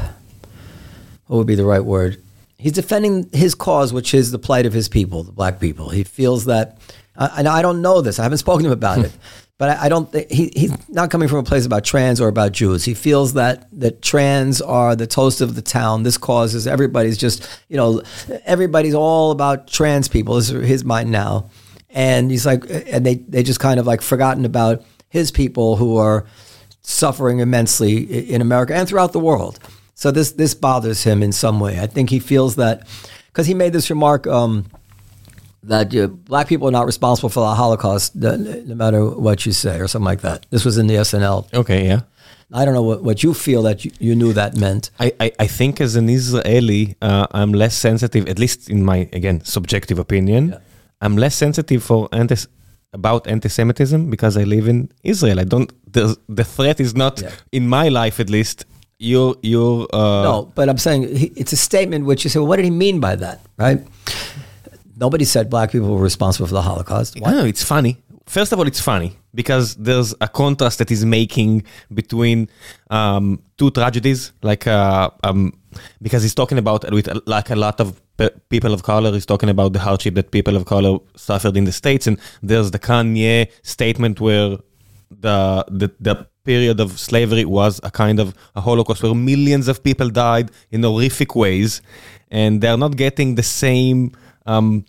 what would be the right word? He's defending his cause, which is the plight of his people, the black people. He feels that, uh, and I don't know this. I haven't spoken to him about it. But I don't think he, he's not coming from a place about trans or about Jews. He feels that that trans are the toast of the town. This causes everybody's just, you know, everybody's all about trans people. This is his mind now. And he's like, and they, they just kind of like forgotten about his people who are suffering immensely in America and throughout the world. So this, this bothers him in some way. I think he feels that, because he made this remark, um, that uh, black people are not responsible for the Holocaust, no, no matter what you say, or something like that. This was in the S N L. Okay, yeah. I don't know what, what you feel that you, you knew that meant. I, I, I think as an Israeli, uh, I'm less sensitive, at least in my, again, subjective opinion, yeah. I'm less sensitive for anti- about anti-Semitism because I live in Israel. I don't, the, the threat is not, yeah. in my life at least, you're... you're uh, no, but I'm saying he, it's a statement which you say, well, what did he mean by that, right? Nobody said black people were responsible for the Holocaust. Why? No, it's funny. First of all, it's funny because there's a contrast that is making between um, two tragedies. Like, uh, um, because he's talking about, with like a lot of pe- people of color, he's talking about the hardship that people of color suffered in the States. And there's the Kanye statement where the the, the period of slavery was a kind of a Holocaust where millions of people died in horrific ways. And they're not getting the same... Um,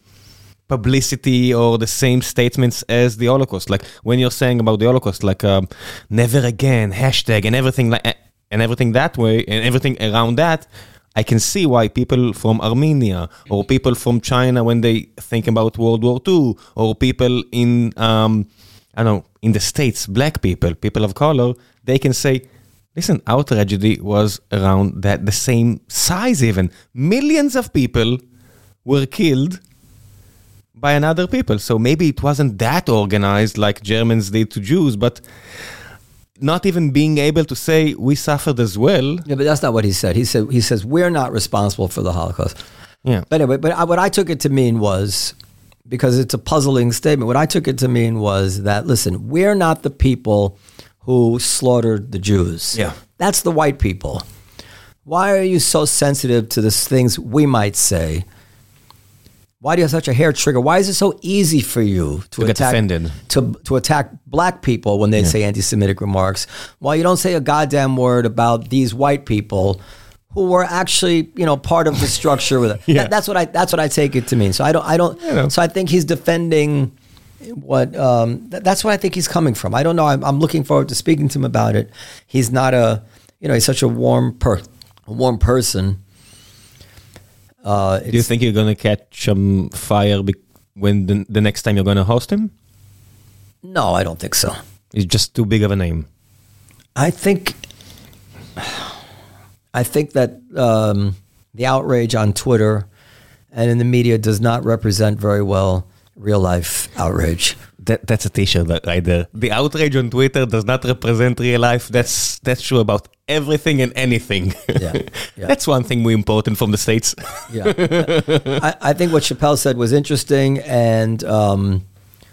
publicity or the same statements as the Holocaust. Like when you're saying about the Holocaust, like um, never again, hashtag and everything like and everything that way and everything around that, I can see why people from Armenia or people from China, when they think about World War Two, or people in um, I don't know, in the States, black people, people of color, they can say, listen, our tragedy was around that the same size even. Millions of people were killed by another people. So maybe it wasn't that organized like Germans did to Jews, but not even being able to say we suffered as well. Yeah, but that's not what he said. He said he says we're not responsible for the Holocaust. Yeah. But anyway, but I, what I took it to mean was, because it's a puzzling statement, what I took it to mean was that, listen, we're not the people who slaughtered the Jews. Yeah. That's the white people. Why are you so sensitive to the things we might say? Why do you have such a hair trigger? Why is it so easy for you to, To get attack offended. to to attack black people when they Yeah. say anti-Semitic remarks? Why you don't say a goddamn word about these white people who were actually, you know, part of the structure with it? Yeah. That, that's what I that's what I take it to mean. So I don't I don't. You know. So I think he's defending what. Um, th- that's what I think he's coming from. I don't know. I'm, I'm looking forward to speaking to him about it. He's not a, you know, he's such a warm per, a warm person. Uh, Do you think you're going to catch um, fire be- when the, the next time you're going to host him? No, I don't think so. He's just too big of a name. I think, I think that um, the outrage on Twitter and in the media does not represent very well real life outrage. That that's a t-shirt right there. The outrage on Twitter does not represent real life. That's that's true about everything and anything. Yeah, yeah. That's one thing we important from the States. Yeah, I, I think what Chappelle said was interesting, and um,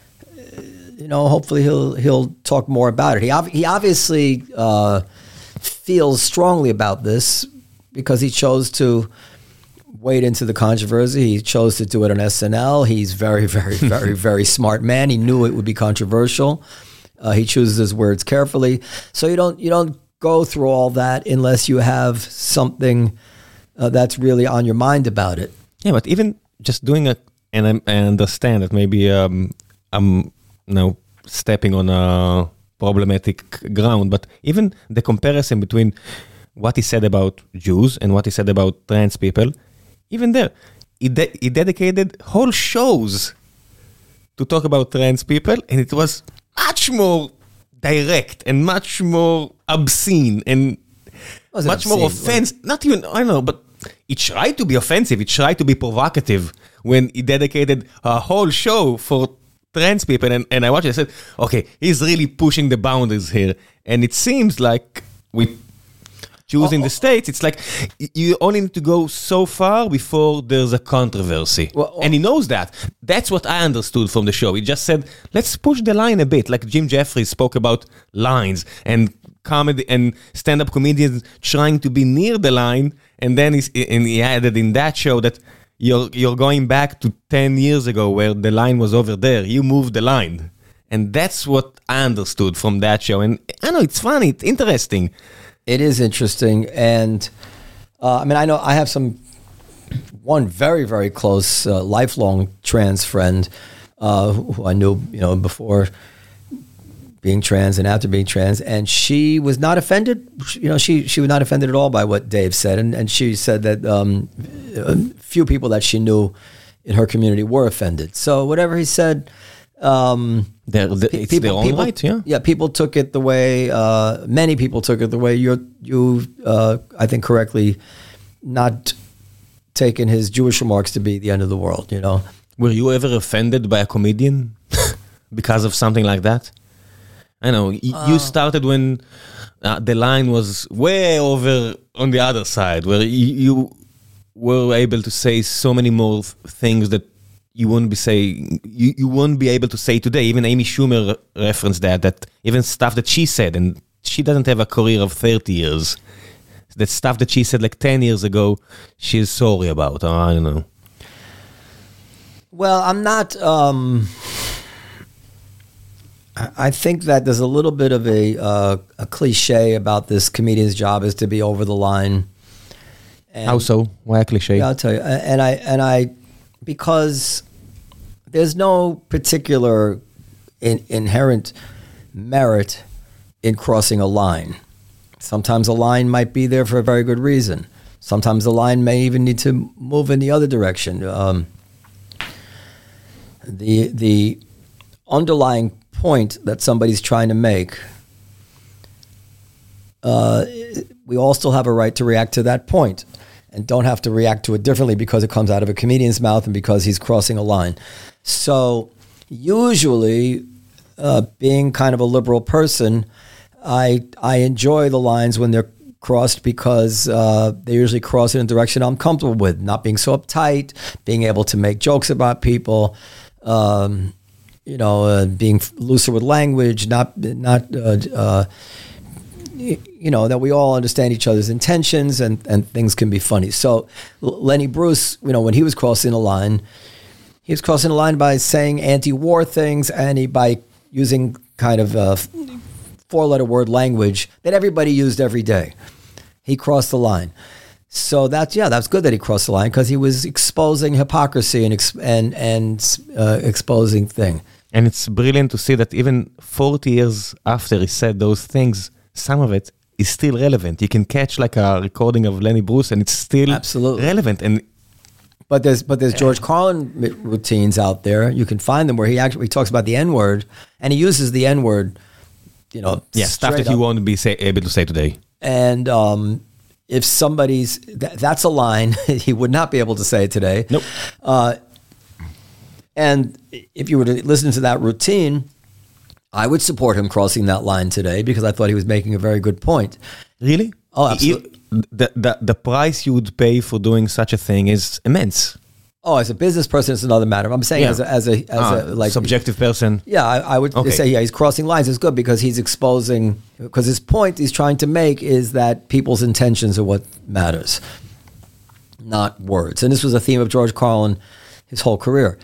you know, hopefully he'll he'll talk more about it. He ob- he obviously uh, feels strongly about this because he chose to wade into the controversy. He chose to do it on S N L. He's very, very, very, very smart man. He knew it would be controversial. Uh, he chooses his words carefully. So you don't you don't go through all that unless you have something uh, that's really on your mind about it. Yeah, but even just doing a, and I, I understand that maybe um, I'm you know stepping on a problematic ground, but even the comparison between what he said about Jews and what he said about trans people, even there, he, de- he dedicated whole shows to talk about trans people, and it was much more direct and much more obscene and Was it much more obscene? offensive. Not even, I don't know, but he tried to be offensive. He tried to be provocative when he dedicated a whole show for trans people. And, and I watched it, I said, okay, he's really pushing the boundaries here. And it seems like with Jews Oh, in the oh. States, it's like y- you only need to go so far before there's a controversy. Well, oh. And he knows that. That's what I understood from the show. He just said, let's push the line a bit. Like Jim Jeffries spoke about lines and comedy and stand-up comedians trying to be near the line. And then he's, and he added in that show that you're, you're going back to ten years ago where the line was over there. You moved the line. And that's what I understood from that show. And I know it's funny, it's interesting. It is interesting, and uh, I mean, I know I have some one very, very close, uh, lifelong trans friend uh, who I knew, you know, before being trans and after being trans, and she was not offended. You know, she she was not offended at all by what Dave said, and and she said that um, a few people that she knew in her community were offended. So whatever he said. Um, They're, the, Pe- it's their own people, right, yeah. Yeah, people took it the way, uh, many people took it the way you're, you, uh, I think correctly, not taken his Jewish remarks to be the end of the world, you know? Were you ever offended by a comedian because of something like that? I know, y- Uh. you started when uh, the line was way over on the other side, where you, you were able to say so many more th- things that you wouldn't be saying, you, you wouldn't be able to say today. Even Amy Schumer re- referenced that, that even stuff that she said, and she doesn't have a career of thirty years. That stuff that she said like ten years ago, she's sorry about. Oh, I don't know. Well, I'm not, um, I I think that there's a little bit of a, uh, a cliche about this comedian's job is to be over the line. And How so? Why a cliche? Yeah, I'll tell you. And I, and I, because there's no particular in, inherent merit in crossing a line. Sometimes a line might be there for a very good reason. Sometimes the line may even need to move in the other direction. Um, the the underlying point that somebody's trying to make, uh, we all still have a right to react to that point. and don't have to react to it differently because it comes out of a comedian's mouth and because he's crossing a line. So usually, uh, being kind of a liberal person, I I enjoy the lines when they're crossed because uh, they usually cross in a direction I'm comfortable with, not being so uptight, being able to make jokes about people, um, you know, uh, being looser with language, not not uh, uh, you know, that we all understand each other's intentions and, and things can be funny. So Lenny Bruce, you know, when he was crossing a line, he was crossing a line by saying anti-war things and he by using kind of uh, four-letter word language that everybody used every day. He crossed the line. So that's, yeah, that's good that he crossed the line because he was exposing hypocrisy and ex- and, and uh, exposing thing. And it's brilliant to see that even forty years after he said those things, some of it is still relevant. You can catch like a recording of Lenny Bruce and it's still Absolutely. relevant. And But there's but there's George Carlin routines out there. You can find them where he actually talks about the N-word and he uses the N-word, you know, yeah, stuff that up. you won't be say, able to say today. And um, if somebody's, th- that's a line he would not be able to say today. Nope. Uh, and if you were to listen to that routine, I would support him crossing that line today because I thought he was making a very good point. Really? Oh, absolutely. The, the, the price you would pay for doing such a thing is immense. Oh, as a business person, it's another matter. I'm saying Yeah. as a, as a, as Ah, a like subjective person. Yeah, I, I would Okay. say, yeah, he's crossing lines. It's good because he's exposing, because his point he's trying to make is that people's intentions are what matters, not words. And this was a theme of George Carlin his whole career.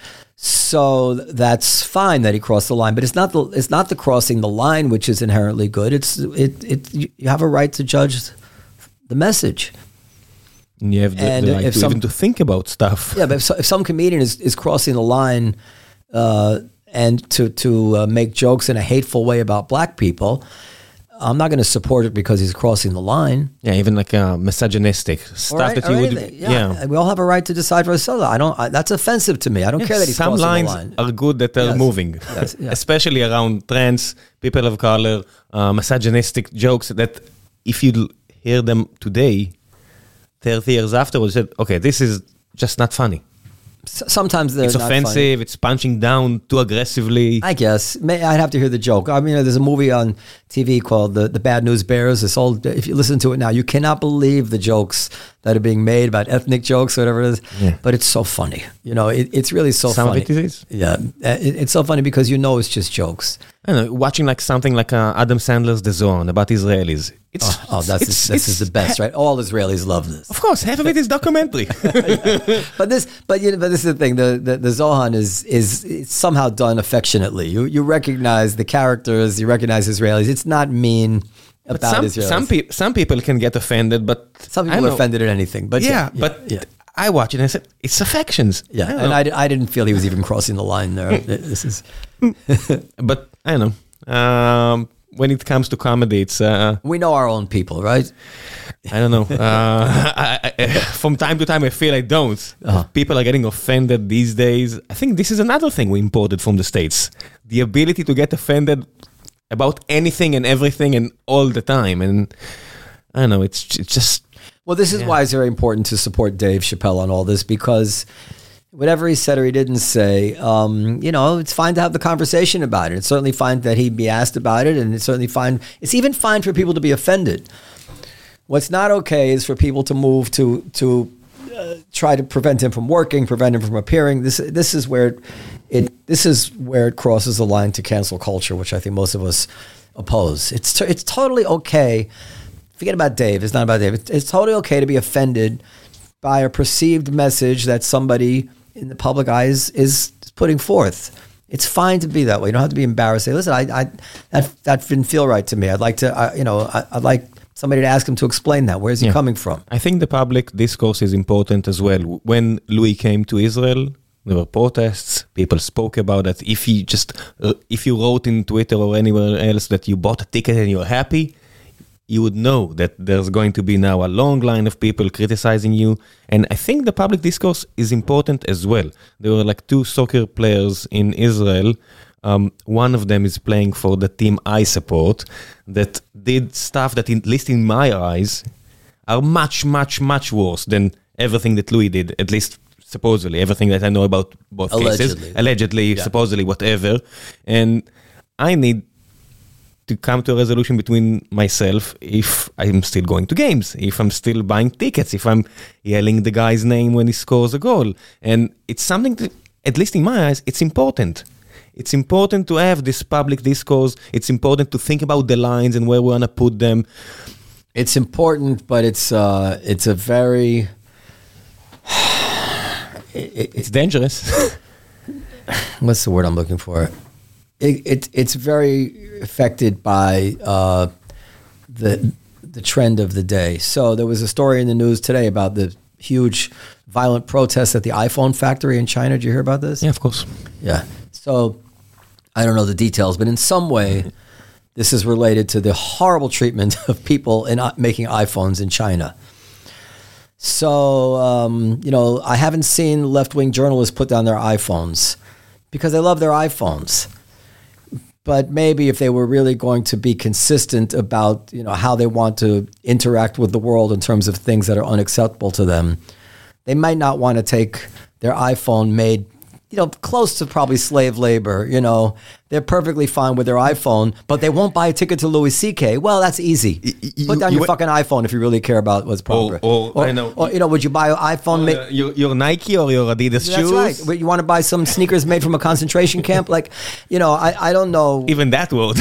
So that's fine that he crossed the line, but it's not the it's not the crossing the line which is inherently good. It's it it you have a right to judge the message. And you have the, And the right if to some- even to think about stuff. Yeah, but if, so, if some comedian is, is crossing the line uh, and to to uh, make jokes in a hateful way about black people, I'm not going to support it because he's crossing the line. Yeah, even like uh, misogynistic stuff Or, that or you would. anything. Yeah. we all have a right to decide for ourselves. I don't. I, that's offensive to me. I don't Yeah, care that he's some crossing lines the line. are good that are Yes. moving, Yes, yeah. especially around trans, people of color, uh, misogynistic jokes that if you l- hear them today, thirty years afterwards, you said, okay, this is just not funny. S- Sometimes they're It's not funny. offensive, it's punching down too aggressively. I guess. May, I'd have to hear the joke. I mean, there's a movie on T V called The, the Bad News Bears. This old, if you listen to it now, you cannot believe the jokes that are being made about ethnic jokes or whatever it is. Yeah. But it's so funny. You know, it, it's really so Some funny. of it is. Yeah. It, it's so funny because you know it's just jokes. I don't know, watching like something like uh, Adam Sandler's The Zone about Israelis. It's, Oh, oh that's it's, this it's, is the best, right? All Israelis love this. Of course, half of it is documentary. But this, but you know, but this is the thing. The the, the Zohan is is it's somehow done affectionately. You you recognize the characters. You recognize Israelis. It's not mean But about some, Israelis. some, pe- some people can get offended, but Some I people don't are know. offended at anything. But Yeah, yeah, yeah, but yeah. I watch it and I said, it's affections. Yeah, I don't and know. I, di- I didn't feel he was even crossing the line there. This is But I don't know. Um, when it comes to comedy, it's uh, we know our own people, right? I don't know. Uh, I, I, from time to time, I feel I don't. Uh-huh. People are getting offended these days. I think this is another thing we imported from the States: the ability to get offended about anything and everything and all the time. And I don't know. It's it's just Well, this is Yeah. why it's very important to support Dave Chappelle on all this because whatever he said or he didn't say, um, you know, it's fine to have the conversation about it. It's certainly fine that he be asked about it, and it's certainly fine. It's even fine for people to be offended. What's not okay is for people to move to to uh, try to prevent him from working, prevent him from appearing. This this is where it, it this is where it crosses the line to cancel culture, which I think most of us oppose. It's t- it's totally okay. Forget about Dave. It's not about Dave. It's, it's totally okay to be offended by a perceived message that somebody in the public eyes is putting forth. It's fine to be that way. You don't have to be embarrassed. Say, listen, I, I that that didn't feel right to me. I'd like to, I, you know, I, I'd like somebody to ask him to explain that. Where's he Yeah. coming from? I think the public discourse is important as well. When Louis came to Israel, there were protests. People spoke about that. If you just, uh, if you wrote in Twitter or anywhere else that you bought a ticket and you're happy, you would know that there's going to be now a long line of people criticizing you. And I think the public discourse is important as well. There were like two soccer players in Israel. Um, one of them is playing for the team I support that did stuff that, in, at least in my eyes, are much, much, much worse than everything that Louis did, at least supposedly, everything that I know about both Allegedly. cases. Allegedly, Yeah. supposedly, whatever. And I need to come to a resolution between myself if I'm still going to games, if I'm still buying tickets, if I'm yelling the guy's name when he scores a goal. And it's something that, at least in my eyes, it's important. It's important to have this public discourse. It's important to think about the lines and where we want to put them. It's important, but it's uh, it's a very... it, it, It's dangerous. what's the word I'm looking for? It, it it's very affected by uh, the the trend of the day. So there was a story in the news today about the huge violent protests at the iPhone factory in China. Did you hear about this? Yeah, of course. Yeah. So I don't know the details, but in some way, this is related to the horrible treatment of people in uh, making iPhones in China. So, um, you know, I haven't seen left-wing journalists put down their iPhones because they love their iPhones. But maybe if they were really going to be consistent about, you know, how they want to interact with the world in terms of things that are unacceptable to them, they might not want to take their iPhone made, you know, close to probably slave labor, you know. They're perfectly fine with their iPhone, but they won't buy a ticket to Louis C K. Well, that's easy. you- Put down you- your fucking iPhone if you really care about what's proper. or- I know. Or, you know, would you buy an iPhone made... Uh, your, your Nike or your Adidas That's shoes? right. But you want to buy some sneakers made from a concentration camp? Like, you know, I, I don't know. Even that word.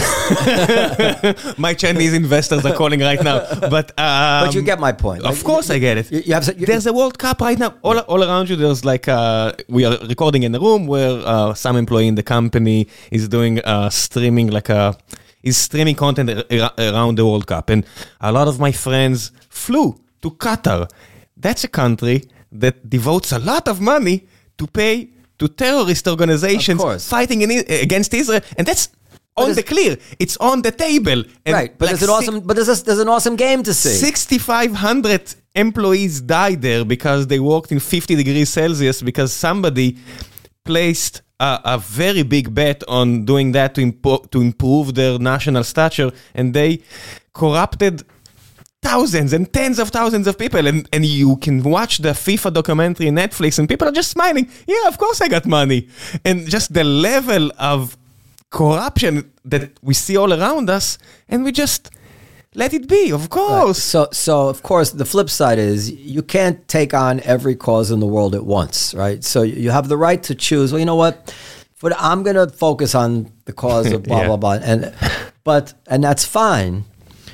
My Chinese investors are calling right now. But um, But you get my point. Of Like, course I get it. You, you have, you, There's a World Cup right now. All, all around you, there's like, uh, we are recording in a room where uh, some employee in the company is doing uh, streaming, like a, is streaming content ar- around the World Cup. And a lot of my friends flew to Qatar. That's a country that devotes a lot of money to pay to terrorist organizations Of course. fighting in, against Israel. And that's on it's- the clear. It's on the table. And right. But like there's an awesome, but there's, a, there's an awesome game to see. sixty-five hundred employees died there because they worked in fifty degrees Celsius because somebody placed a, a very big bet on doing that to, impo- to improve their national stature, and they corrupted thousands and tens of thousands of people. And, and you can watch the FIFA documentary on Netflix and people are just smiling. Yeah, of course I got money. And just the level of corruption that we see all around us, and we just let it be, of course. So, so of course, the flip side is you can't take on every cause in the world at once, right? So you have the right to choose. Well, you know what? But I'm going to focus on the cause of blah Yeah. blah blah, and but and that's fine.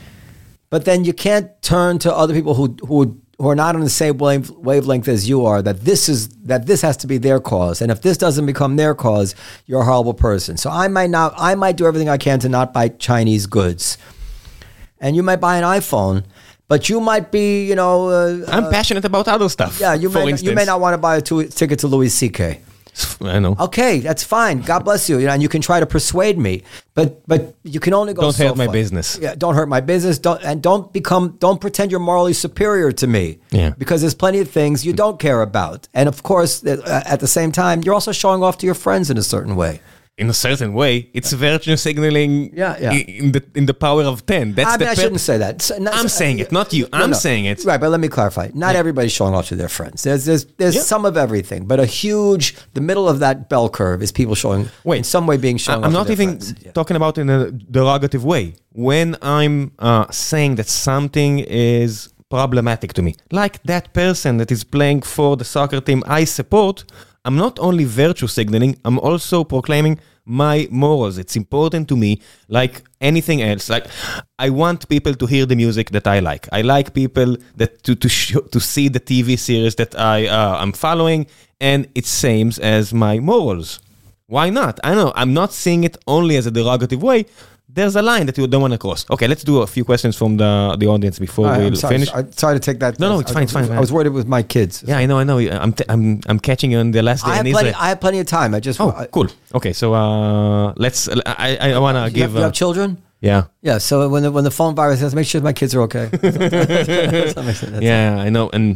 But then you can't turn to other people who who who are not on the same wave, wavelength as you are. That this is that this has to be their cause, and if this doesn't become their cause, you're a horrible person. So I might not. I might do everything I can to not buy Chinese goods. And you might buy an iPhone, but you might be, you know... Uh, I'm uh, passionate about other stuff. yeah, you for may, instance. you may not want to buy a tu- ticket to Louis C K. I know. Okay, that's fine. God bless you. You know, and you can try to persuade me, but but you can only go Don't so hurt my far. business. Yeah, don't hurt my business. Don't and don't become. Don't pretend you're morally superior to me. Yeah. Because there's plenty of things you don't care about, and of course, uh, at the same time, you're also showing off to your friends in a certain way. In a certain way, it's virtue signaling Yeah, yeah. i- in the in the power of ten. That's I the mean, I pur- shouldn't say that. So- not- I'm saying it, not you. No, I'm no. saying it. Right, but let me clarify. Not everybody's showing off to their friends. There's there's there's Yeah. some of everything, but a huge the middle of that bell curve is people showing Wait, in some way being shown I'm off not to their even friends. Yeah. talking about in a derogative way. When I'm uh, saying that something is problematic to me, like that person that is playing for the soccer team I support, I'm not only virtue signaling, I'm also proclaiming my morals. It's important to me, like anything else. Like, I want people to hear the music that I like. I like people that to to show, to see the T V series that I uh, I'm following, and it's same as my morals. Why not? I know I'm not seeing it only as a derogative way. There's a line that you don't want to cross. Okay, let's do a few questions from the the audience before All right, we I'm sorry, finish. sorry, sorry to take that. No, no, it's I- fine, it's fine, I was worried it was my kids. Yeah, I know, I know. I'm t- I'm I'm catching you on the last day I have in plenty. Israel. I have plenty of time. I just. Oh, I, cool. Okay, so uh, let's. I I, I want to You give. have, you uh, have children? yeah, Yeah. So when the when the phone virus says, make sure my kids are okay. That's- yeah, I know, and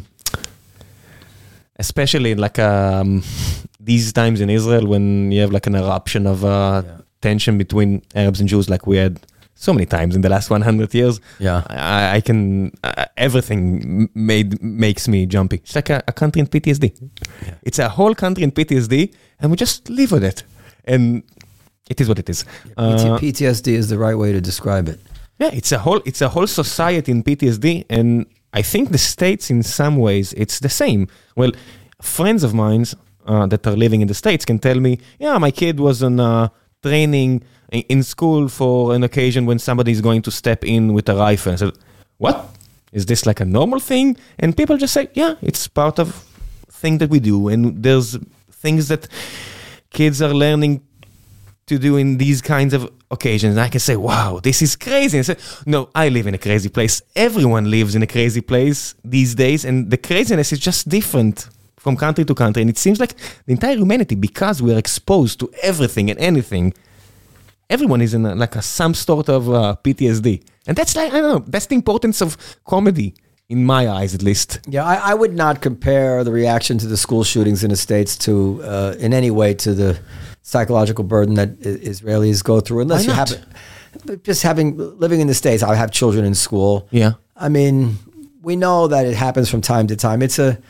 especially like um, these times in Israel when you have like an eruption of uh, Yeah. tension between Arabs and Jews, like we had so many times in the last one hundred years. Yeah. I, I can, uh, everything made makes me jumpy. It's like a, a country in P T S D. Yeah. It's a whole country in P T S D, and we just live with it. And it is what it is. Uh, P T S D is the right way to describe it. Yeah, it's a whole, it's a whole society in P T S D, and I think the States, in some ways, it's the same. Well, friends of mine uh, that are living in the States can tell me, yeah, my kid was on uh, training in school for an occasion when somebody is going to step in with a rifle. I said, what? Is this like a normal thing? And people just say, yeah, it's part of thing that we do. And there's things that kids are learning to do in these kinds of occasions. And I can say, wow, this is crazy. And I say, no, I live in a crazy place. Everyone lives in a crazy place these days. And the craziness is just different from country to country. And it seems like the entire humanity, because we're exposed to everything and anything, everyone is in a, like a, some sort of uh, P T S D. And that's like, I don't know, that's the importance of comedy, in my eyes at least. Yeah, I, I would not compare the reaction to the school shootings in the States to, uh, in any way, to the psychological burden that Israelis go through. Unless you have, just having, living in the States, I have children in school. Yeah. I mean, we know that it happens from time to time. It's a,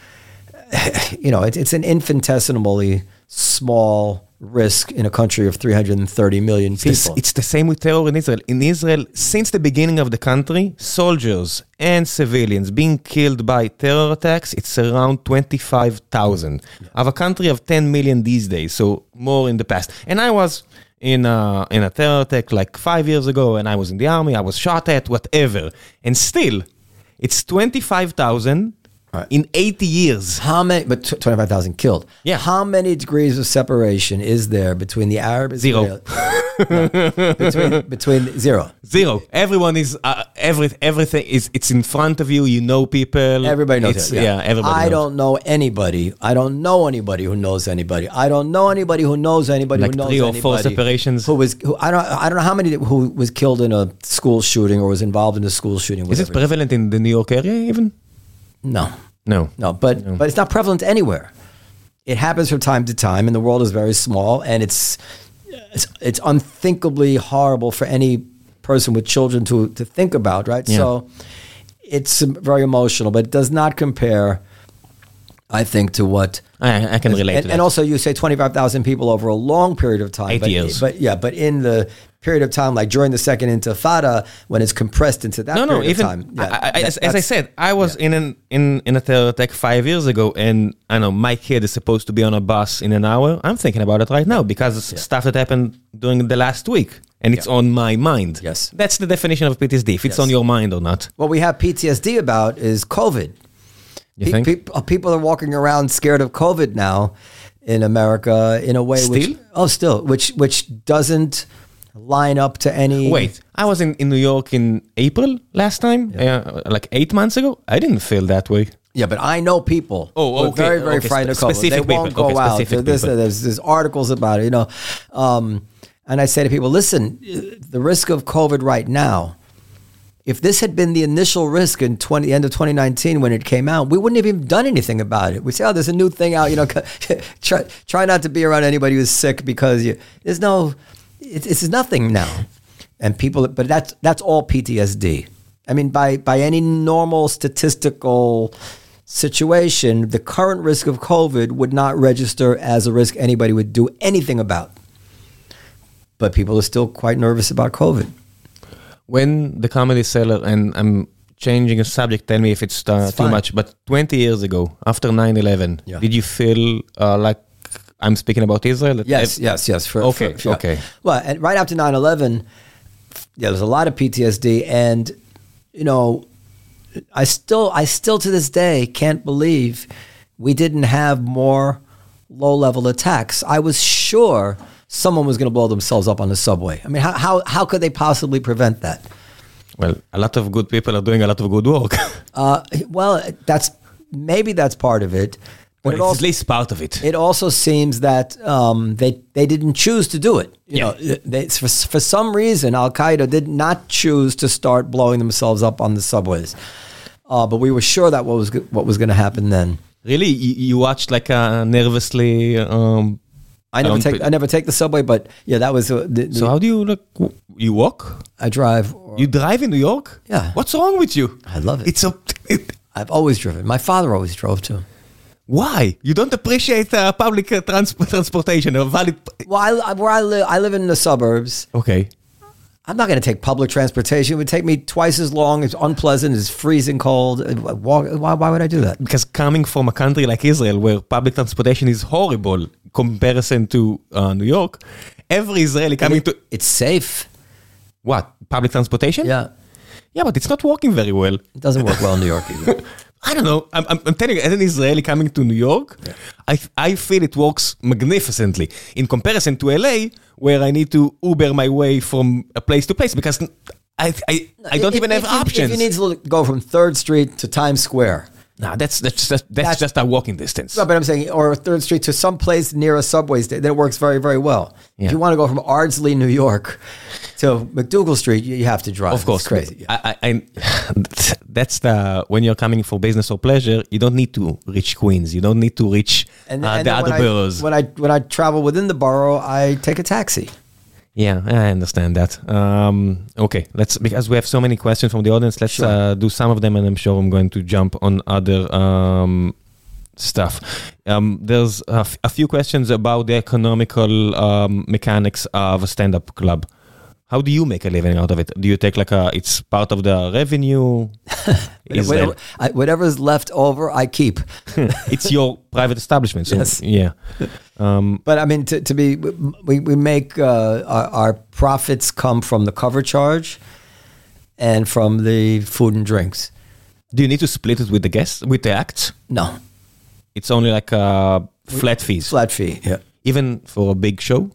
you know, it, it's an infinitesimally small risk in a country of three hundred thirty million people. It's the, it's the same with terror in Israel. In Israel, since the beginning of the country, soldiers and civilians being killed by terror attacks, it's around twenty-five thousand. Yeah. I have a country of ten million these days, so more in the past. And I was in a, in a terror attack like five years ago, and I was in the army, I was shot at, whatever. And still, it's twenty-five thousand right. in eighty years. How many, but twenty-five thousand killed. Yeah. How many degrees of separation is there between the Arab Zero. no, between, between zero. Zero. Everyone is, uh, every, everything is, it's in front of you, you know people. Everybody knows it's, it. Yeah, yeah everybody I knows. don't know anybody. I don't know anybody who knows anybody. I don't know anybody who knows anybody like who knows three or anybody. four separations. Who was, who, I don't I don't know how many who was killed in a school shooting or was involved in a school shooting. Is it prevalent in the New York area even? No. No. No, but no. but it's not prevalent anywhere. It happens from time to time, and the world is very small, and it's it's, it's unthinkably horrible for any person with children to to think about, right? Yeah. So it's very emotional, but it does not compare, I think, to what I, I can relate and, to that. and also you say twenty-five thousand people over a long period of time. Eight but, years. But yeah, but in the period of time, like during the second Intifada, when it's compressed into that no, period no, even, of time. Yeah, I, I, that, as, as I said, I was yeah. in an in, in a terror attack five years ago, and I know my kid is supposed to be on a bus in an hour. I'm thinking about it right now because yeah. stuff that happened during the last week, and it's yeah. on my mind. Yes. That's the definition of P T S D, if it's yes. on your mind or not. What we have P T S D about is COVID. You think? Pe- people are walking around scared of COVID now in America in a way still? which oh still which which doesn't line up to any. Wait, I was in, in New York in April last time, yeah. uh, like eight months ago. I didn't feel that way. Yeah, but I know people oh, who are okay, very, very okay. frightened Spe- of COVID. They won't people. go okay, out. There's, there's, there's articles about it, you know. Um, and I say to people, listen, the risk of COVID right now, if this had been the initial risk in twenty, the end of twenty nineteen when it came out, we wouldn't have even done anything about it. We say, oh, there's a new thing out, you know, try, try not to be around anybody who's sick because you, there's no, it, it's nothing now. And people, but that's that's all P T S D. I mean, by by any normal statistical situation, the current risk of COVID would not register as a risk anybody would do anything about. But people are still quite nervous about COVID. When the Comedy Cellar, and I'm changing a subject, tell me if it's, uh, it's too much, but twenty years ago, after nine eleven, yeah. did you feel uh, like I'm speaking about Israel? Yes, ev- yes, yes. For, okay, for, for, okay. Well, and right after nine eleven, yeah, there's a lot of P T S D, and you know, I still, I still to this day can't believe we didn't have more low-level attacks. I was sure someone was going to blow themselves up on the subway. I mean, how how how could they possibly prevent that? Well, a lot of good people are doing a lot of good work. uh, well, that's maybe that's part of it. But well, it's also, at least part of it. It also seems that um, they they didn't choose to do it. You yeah. know, they, for for some reason, Al Qaeda did not choose to start blowing themselves up on the subways. Uh, but we were sure that what was what was going to happen then. Really, you, you watched like a nervously um, I never Um, take but- I never take the subway, but yeah, that was uh, the, the, So how do you, like, w- you walk? I drive. Or, You drive in New York? Yeah. What's wrong with you? I love it. It's a... It, I've always driven. My father always drove too. why? You don't appreciate uh, public uh, trans- transportation or valid... Well, I, I- where I live, I live in the suburbs. Okay. I'm not going to take public transportation. It would take me twice as long. It's unpleasant. It's freezing cold. Uh, Walk, why, why would I do that? Because coming from a country like Israel, where public transportation is horrible comparison to uh, New York, every Israeli coming It- to... It's safe. What? Public transportation? Yeah. Yeah, but it's not working very well. It doesn't work well in New York either. I don't know. I'm, I'm, I'm telling you, as an Israeli coming to New York, yeah. I, I feel it works magnificently in comparison to L A, where I need to Uber my way from a place to place because I, I, I don't if, even have if you, options. If you need to go from third Street to Times Square. No, that's that's just that's, that's just a walking distance. No, but I'm saying, or third Street to some place near a subway station, then it works very, very well. Yeah. If you want to go from Ardsley, New York, to McDougal Street, you, you have to drive. Of course, it's crazy. Yeah. I, I, I, that's the when you're coming for business or pleasure, you don't need to reach Queens. You don't need to reach and, uh, and the then other when boroughs. I, when I when I travel within the borough, I take a taxi. Yeah, I understand that. Um, okay, let's because we have so many questions from the audience. Let's Sure. uh, do some of them, and I'm sure I'm going to jump on other um, stuff. Um, there's a, f- a few questions about the economical um, mechanics of a stand-up club. How do you make a living out of it? Do you take like a? It's part of the revenue. Is Whatever, that- I, whatever's left over, I keep. it's your private establishment. So, Yes. Yeah. Um, But I mean, to, to be, we, we make, uh, our, our profits come from the cover charge and from the food and drinks. do you need to split it with the guests, with the acts? No, It's only like uh, flat fees, flat fee, yeah. even for a big show.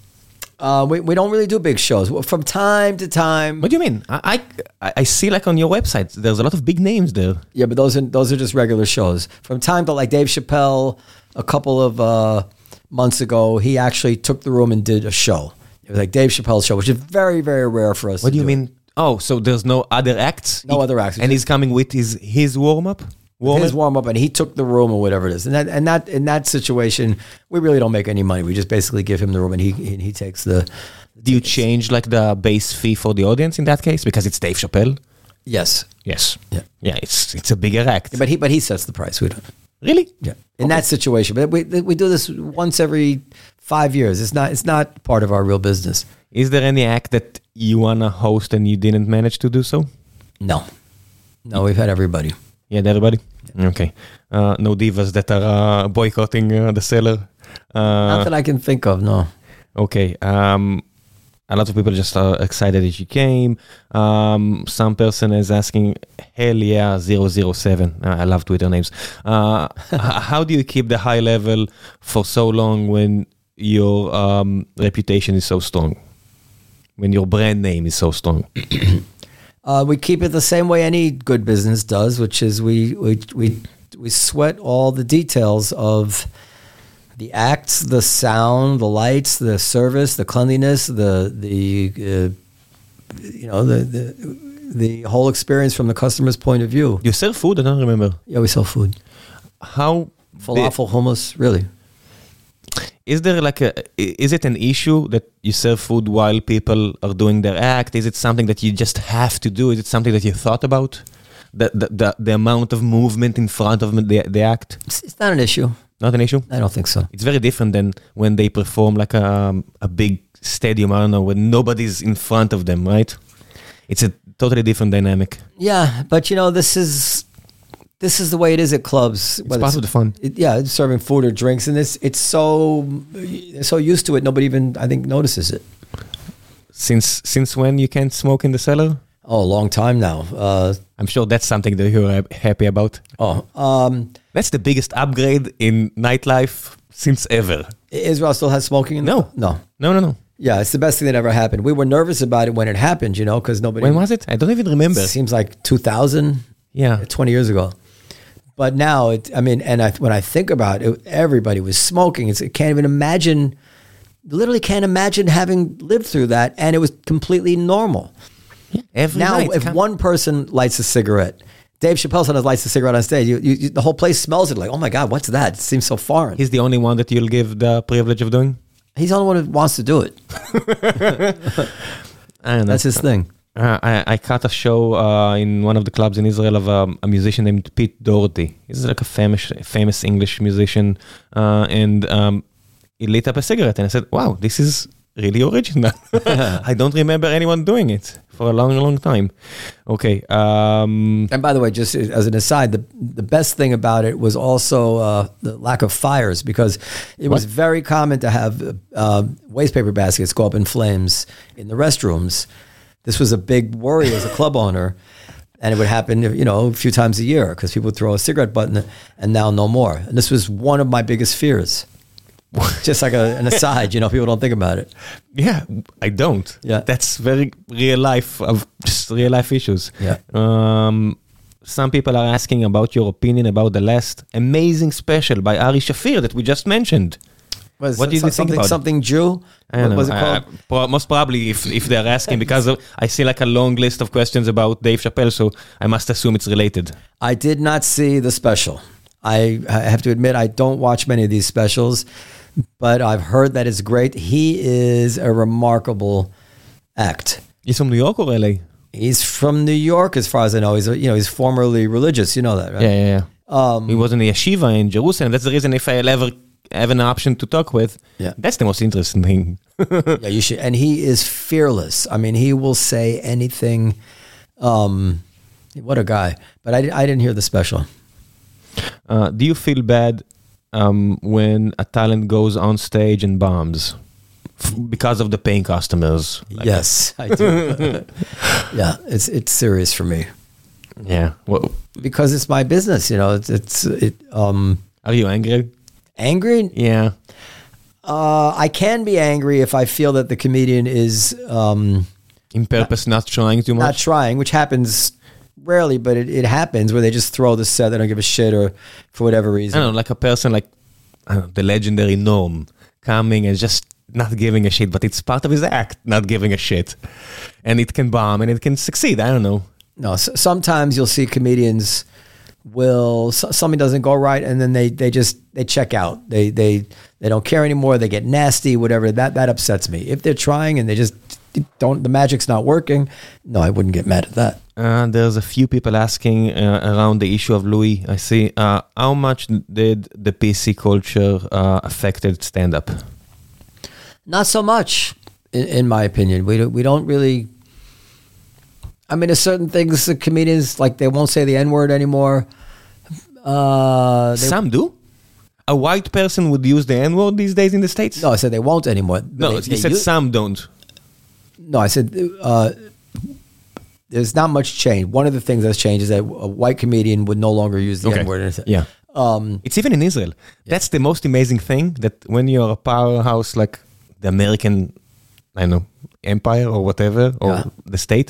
Uh, we, we don't really do big shows. Well, from time to time. What do you mean? I, I I see like on your website, there's a lot of big names there. Yeah, but those are, those are just regular shows. From time to, like Dave Chappelle, a couple of uh, months ago, he actually took the room and did a show. It was like Dave Chappelle's show, which is very, very rare for us What to do you mean? Oh, so there's no other acts? No He- other acts. And he's coming with his his warm up. Warm His warm up, and he took the room or whatever it is. And that, and that, in that situation, we really don't make any money. We just basically give him the room, and he he, he takes the. Do you change like the base fee for the audience in that case because it's Dave Chappelle? Yes, Yes. Yeah. Yeah. It's it's a bigger act. but he but he sets the price. We don't. Really? Yeah, in that situation, but we we do this once every five years. It's not it's not part of our real business. Is there any act that you wanna host and you didn't manage to do so? No, no, we've had everybody. Yeah, everybody. Okay. Uh, no divas that are uh, boycotting uh, the seller. Uh, Not that I can think of. No. Okay. Um, a lot of people just are excited that you came. Um, some person is asking, hell yeah, zero zero seven. Uh, I love Twitter names. Uh, h- how do you keep the high level for so long when your um, reputation is so strong? When your brand name is so strong? Uh, we keep it the same way any good business does, which is we we we we sweat all the details of the acts, the sound, the lights, the service, the cleanliness, the the uh, you know the, the the whole experience from the customer's point of view. You sell food? I don't remember. Yeah, we sell food, How falafel, hummus, really. Is there like a, is it an issue that you serve food while people are doing their act? Is it something that you just have to do? Is it something that you thought about? The, the, the, the amount of movement in front of the, the act? It's, it's not an issue. Not an issue? I don't think so. It's very different than when they perform like a, a big stadium, I don't know, when nobody's in front of them, right? It's a totally different dynamic. Yeah, but you know, this is this is the way it is at clubs. It's part of the fun. It, yeah, it's serving food or drinks, and it's it's so they're so used to it. Nobody even I think notices it. Since since when you can't smoke in the cellar? Oh, a long time now. Uh, I'm sure that's something that you're happy about. oh, um, That's the biggest upgrade in nightlife since ever. Israel still has smoking in No. no. No, no, no. Yeah, it's the best thing that ever happened. We were nervous about it when it happened, you know, because nobody. When was it? I don't even remember. It seems like two thousand, Yeah. twenty years ago. But now, it, I mean, and I, when I think about it, everybody was smoking. It's, I can't even imagine, literally can't imagine having lived through that, and it was completely normal. Every Now, night. if Come- one person lights a cigarette, Dave Chappelle sometimes lights a cigarette on stage, you, you, you, the whole place smells it like, oh my God, what's that? It seems so foreign. He's the only one that you'll give the privilege of doing? He's the only one who wants to do it. I don't know. That's his thing. Uh, I, I caught a show uh, in one of the clubs in Israel of um, a musician named Pete Doherty. He's like a famous, famous English musician, uh, and um, he lit up a cigarette, and I said, "Wow, this is really original." I don't remember anyone doing it for a long, long time. Okay. Um, and by the way, just as an aside, the the best thing about it was also uh, the lack of fires, because it what? was very common to have uh, waste paper baskets go up in flames in the restrooms. This was a big worry as a club owner, and it would happen, you know, a few times a year because people would throw a cigarette butt in, and now no more. And this was one of my biggest fears. Just like a, an aside, you know, people don't think about it. Yeah, I don't. Yeah, that's very real life of just real life issues. Yeah. Um, some people are asking about your opinion about the last amazing special by Ari Shafir that we just mentioned. Was what did you think about something it? Jew? I don't what know. was it called? I, I, most probably, if if they're asking, because of, I see like a long list of questions about Dave Chappelle, so I must assume it's related. I did not see the special. I, I have to admit, I don't watch many of these specials, but I've heard that it's great. He is a remarkable act. He's from New York or L A? He's from New York, as far as I know. He's you know he's formerly religious. You know that, right? Yeah, yeah, yeah. Um, he was in the yeshiva in Jerusalem. That's the reason if I'll ever have an option to talk with, yeah, that's the most interesting thing. Yeah, you should. And he is fearless. I mean, he will say anything. Um, what a guy! But I, I didn't hear the special. Uh, do you feel bad um, when a talent goes on stage and bombs F- because of the paying customers? Like yes, I do. Yeah, it's it's serious for me. Yeah, well, because it's my business. You know, it's it's it. Um, Are you angry? Angry? Yeah. Uh, I can be angry if I feel that the comedian is um, in purpose not, not trying too much. Not trying, which happens rarely, but it, it happens where they just throw the set. They don't give a shit, or for whatever reason. I don't know, like a person like I don't know, the legendary Norm coming and just not giving a shit, but it's part of his act, not giving a shit, and it can bomb and it can succeed. I don't know. No, so sometimes you'll see comedians will so, something doesn't go right, and then they they just they check out. They they they don't care anymore. They get nasty, whatever. That that upsets me. If they're trying and they just don't, the magic's not working. No, I wouldn't get mad at that. Uh, there's a few people asking uh, around the issue of Louis. I see. Uh, how much did the P C culture uh, affected stand-up? Not so much, in, in my opinion. We don't, we don't really. I mean, there's certain things the comedians, like, they won't say the N-word anymore. Uh, they, Some do. A white person would use the N-word these days in the States? No, I said they won't anymore. No, they, you they said use, some don't. No, I said uh, there's not much change. One of the things that's changed is that a white comedian would no longer use the okay. N-word. Yeah. Um, it's even in Israel. Yeah. That's the most amazing thing, that when you're a powerhouse like the American, I don't know, empire or whatever, or yeah. the state,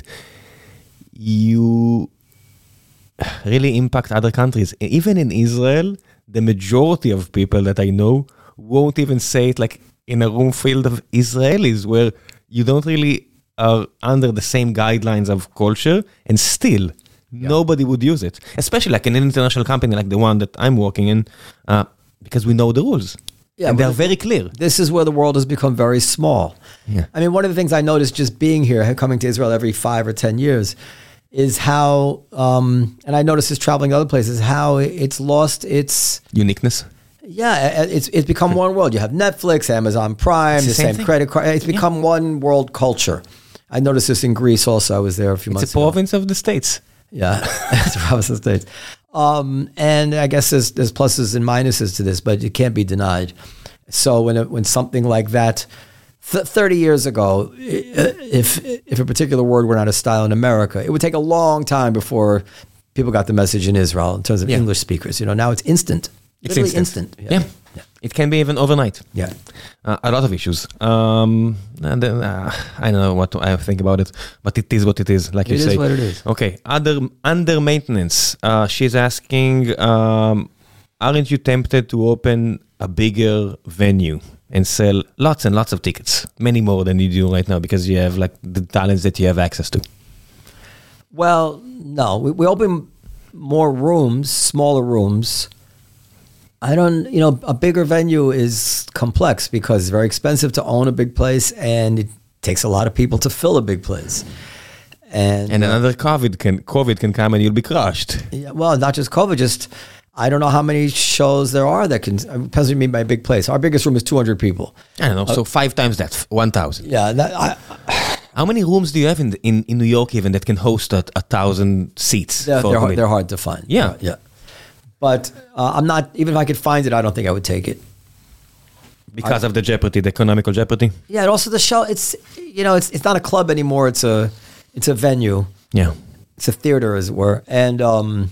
you really impact other countries. Even in Israel, the majority of people that I know won't even say it like in a room filled of Israelis where you don't really are under the same guidelines of culture, and still yeah. nobody would use it. Especially like in an international company like the one that I'm working in, uh, because we know the rules. Yeah, and they're very clear. This is where the world has become very small. Yeah. I mean, one of the things I noticed just being here, coming to Israel every five or ten years, is how, um, and I noticed this traveling to other places, how it's lost its uniqueness. Yeah, it's it's become one world. You have Netflix, Amazon Prime, it's the, the same, same credit card. It's become yeah. one world culture. I noticed this in Greece also. I was there a few it's months ago. ago. It's a province of the States. Yeah, it's a province of the States. Um, and I guess there's there's pluses and minuses to this, but it can't be denied. So when it, when something like that, th- thirty years ago, if if a particular word were not a style in America, it would take a long time before people got the message in Israel in terms of yeah. English speakers. You know, now it's instant. It's instant. instant. Yeah. Yeah. yeah. It can be even overnight. Yeah. Uh, a lot of issues. Um, and then, uh, I don't know what to, I think about it, but it is what it is, like it you say. It is what it is. Okay. Other, under maintenance. Uh, she's asking, um, aren't you tempted to open a bigger venue and sell lots and lots of tickets? Many more than you do right now, because you have like the talents that you have access to. Well, no. We, we open more rooms, smaller rooms, I don't, you know, a bigger venue is complex because it's very expensive to own a big place and it takes a lot of people to fill a big place. And, And another COVID can COVID can come and you'll be crushed. yeah, well, not just COVID, just I don't know how many shows there are that can, depends what you mean by a big place. Our biggest room is two hundred people. I don't know, so five times that, one thousand. Yeah. That, I, How many rooms do you have in the, in, in New York even that can host a, a thousand seats? they're, for a they're, hard, comedian? they're hard to find. Yeah. Yeah. But uh, I'm not, even if I could find it, I don't think I would take it. Because of the jeopardy, the economical jeopardy? Yeah. And also the show, it's, you know, it's, it's not a club anymore. It's a, it's a venue. Yeah. It's a theater, as it were. And um,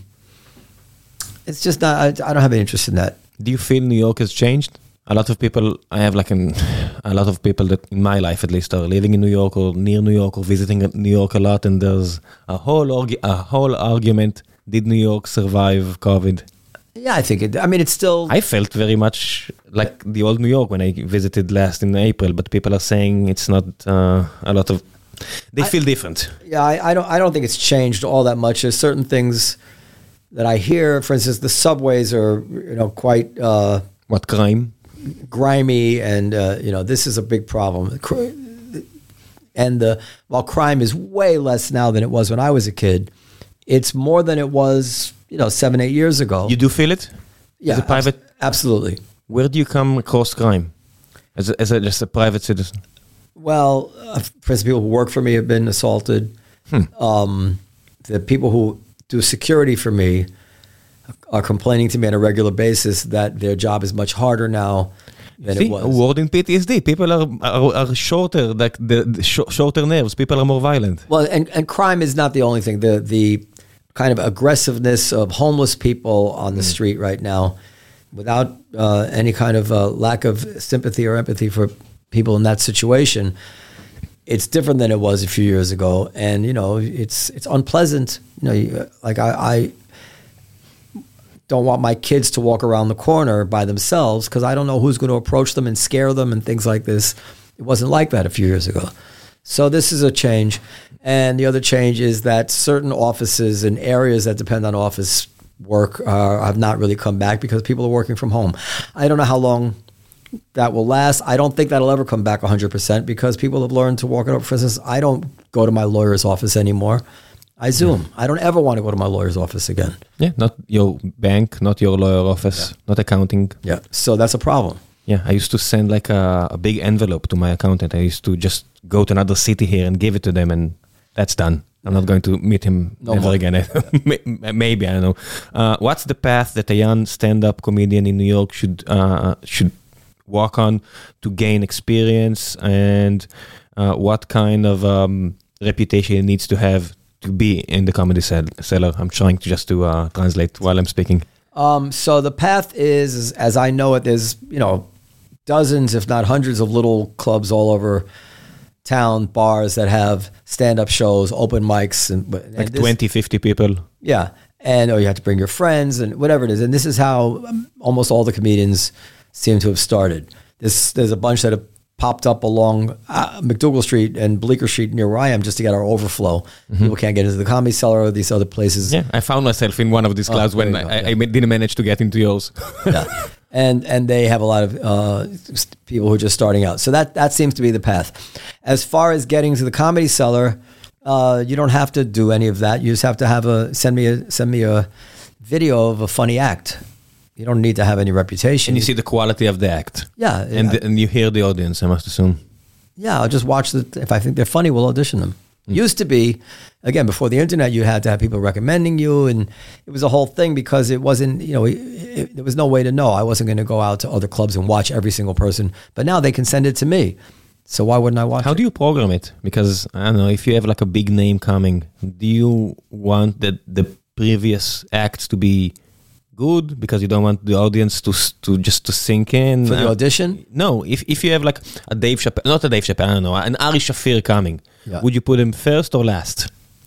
it's just not, I, I don't have any interest in that. Do you feel New York has changed? A lot of people, I have like an, a lot of people that in my life at least are living in New York or near New York or visiting New York a lot, and there's a whole argu- a whole argument. Did New York survive COVID? Yeah, I think it, I mean, it's still, I felt very much like the old New York when I visited last in April, but people are saying it's not uh, a lot of, they I- feel different. yeah, I, I don't, I don't think it's changed all that much. There's certain things that I hear. For instance, the subways are, you know, quite uh, What crime? grimy, and uh, you know, this is a big problem. Cr- And the while crime is way less now than it was when I was a kid, it's more than it was, you know, seven, eight years ago. You do feel it? yeah, As a private, abs- absolutely. where do you come across crime? As a, as a, just a private citizen? Well, uh, for instance, people who work for me have been assaulted. Hmm. Um, the people who do security for me are complaining to me on a regular basis that their job is much harder now than See, it was. a word in P T S D. People are are, are shorter, like the, the sh- shorter nerves. People are more violent. Well, and, and crime is not the only thing. The the kind of aggressiveness of homeless people on the street right now, without uh, any kind of uh, lack of sympathy or empathy for people in that situation, it's different than it was a few years ago. And you know, it's it's unpleasant. You know, you, like I. I don't want my kids to walk around the corner by themselves because I don't know who's going to approach them and scare them and things like this. It wasn't like that a few years ago. So this is a change. And the other change is that certain offices and areas that depend on office work uh, have not really come back because people are working from home. I don't know how long that will last. I don't think that'll ever come back one hundred percent because people have learned to walk it up. For instance, I don't go to my lawyer's office anymore. I Zoom. I don't ever want to go to my lawyer's office again. Yeah, not your bank, not your lawyer office, Yeah. not accounting. Yeah. So that's a problem. Yeah, I used to send like a, a big envelope to my accountant. I used to just go to another city here and give it to them, and that's done. I'm not going to meet him No ever more. again. Maybe, I don't know. Uh, what's the path that a young stand-up comedian in New York should uh, should walk on to gain experience, and uh, what kind of um, reputation he needs to have to be in the comedy cell- cellar? I'm trying to just to uh, translate while I'm speaking. Um, so the path is, is, as I know it, there's, you know, dozens, if not hundreds of little clubs all over town, bars that have stand-up shows, open mics. and, and Like this- twenty, fifty people. Yeah. And or you have to bring your friends and whatever it is. And this is how um, almost all the comedians seem to have started. This, there's a bunch that have popped up along uh, McDougal Street and Bleecker Street near where I am just to get our overflow. People can't get into the Comedy Cellar or these other places. Yeah, I found myself in one of these Oh, clubs there when you go, I, yeah. I ma- didn't manage to get into yours. Yeah. And and they have a lot of uh, people who are just starting out. So that that seems to be the path. As far as getting to the Comedy Cellar, uh, you don't have to do any of that. You just have to have a send me a send me a video of a funny act. You don't need to have any reputation. And you see the quality of the act. yeah, And, I- the, and you hear the audience, I must assume. yeah. I'll just watch the. If I think they're funny, we'll audition them. Mm. Used to be, again, before the internet, you had to have people recommending you, and it was a whole thing because it wasn't, you know, it, it, there was no way to know. I wasn't going to go out to other clubs and watch every single person. But now they can send it to me, so why wouldn't I watch How it? do you program it? Because, I don't know, if you have like a big name coming, do you want the, the previous acts to be good because you don't want the audience to s- to just to sink in? For the Uh, audition? No, if if you have like a Dave Chappelle, not a Dave Chappelle, I don't know, an Ari Shafir coming, Yeah. would you put him first or last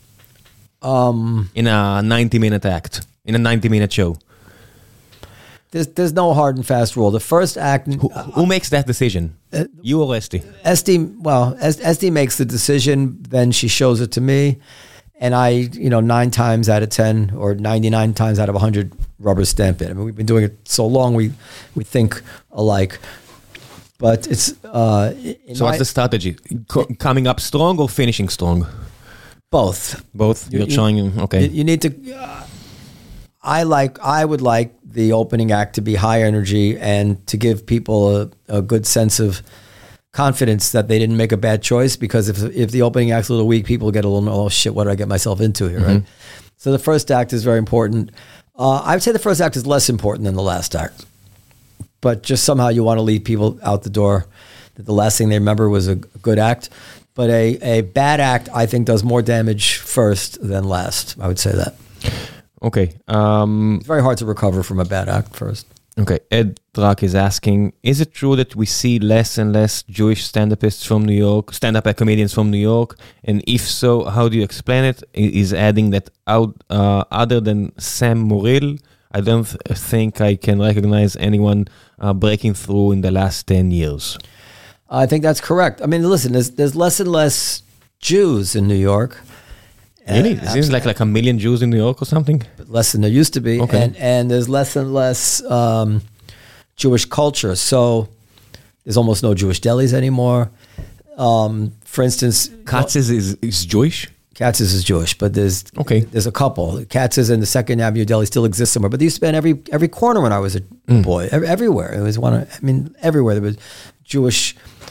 Um, in a ninety minute act, in a ninety minute show? there's there's no hard and fast rule. The first act, Who, who makes that decision? You or Esty? Esty, well, Es- Esty makes the decision. Then she shows it to me, and I, you know, nine times out of ten or ninety nine times out of a hundred, rubber stamp it. I mean, we've been doing it so long, we we think alike. But it's uh, so. What's my, the strategy? Co- coming up strong or finishing strong? Both. Both. You're you, trying. Okay. You, you need to. Uh, I like. I would like the opening act to be high energy and to give people a, a good sense of confidence that they didn't make a bad choice. Because if if the opening act's a little weak, people get a little, oh shit, what did I get myself into here, mm-hmm. right? So the first act is very important. Uh, I would say the first act is less important than the last act. But just somehow you want to leave people out the door that the last thing they remember was a good act. But a, a bad act, I think, does more damage first than last. I would say that. Okay. Um, it's very hard to recover from a bad act first. Okay. Ed Drak is asking, is it true that we see less and less Jewish stand-upists from New York, stand-up comedians from New York? And if so, how do you explain it? He's adding that out, uh, other than Sam Morril, I don't th- think I can recognize anyone uh, breaking through in the last ten years. I think that's correct. I mean, listen, there's, there's less and less Jews in New York. Really? It seems like like a million Jews in New York or something? Less than there used to be. Okay. And, and there's less and less um, Jewish culture. So there's almost no Jewish delis anymore. Um, for instance... Katz's is, is Jewish? Katz's is Jewish, but there's okay. there's a couple. Katz's and the Second Avenue Deli still exist somewhere, but they used to be in every every corner when I was a mm. boy. Every, everywhere it was one. Of, I mean, everywhere there was Jewish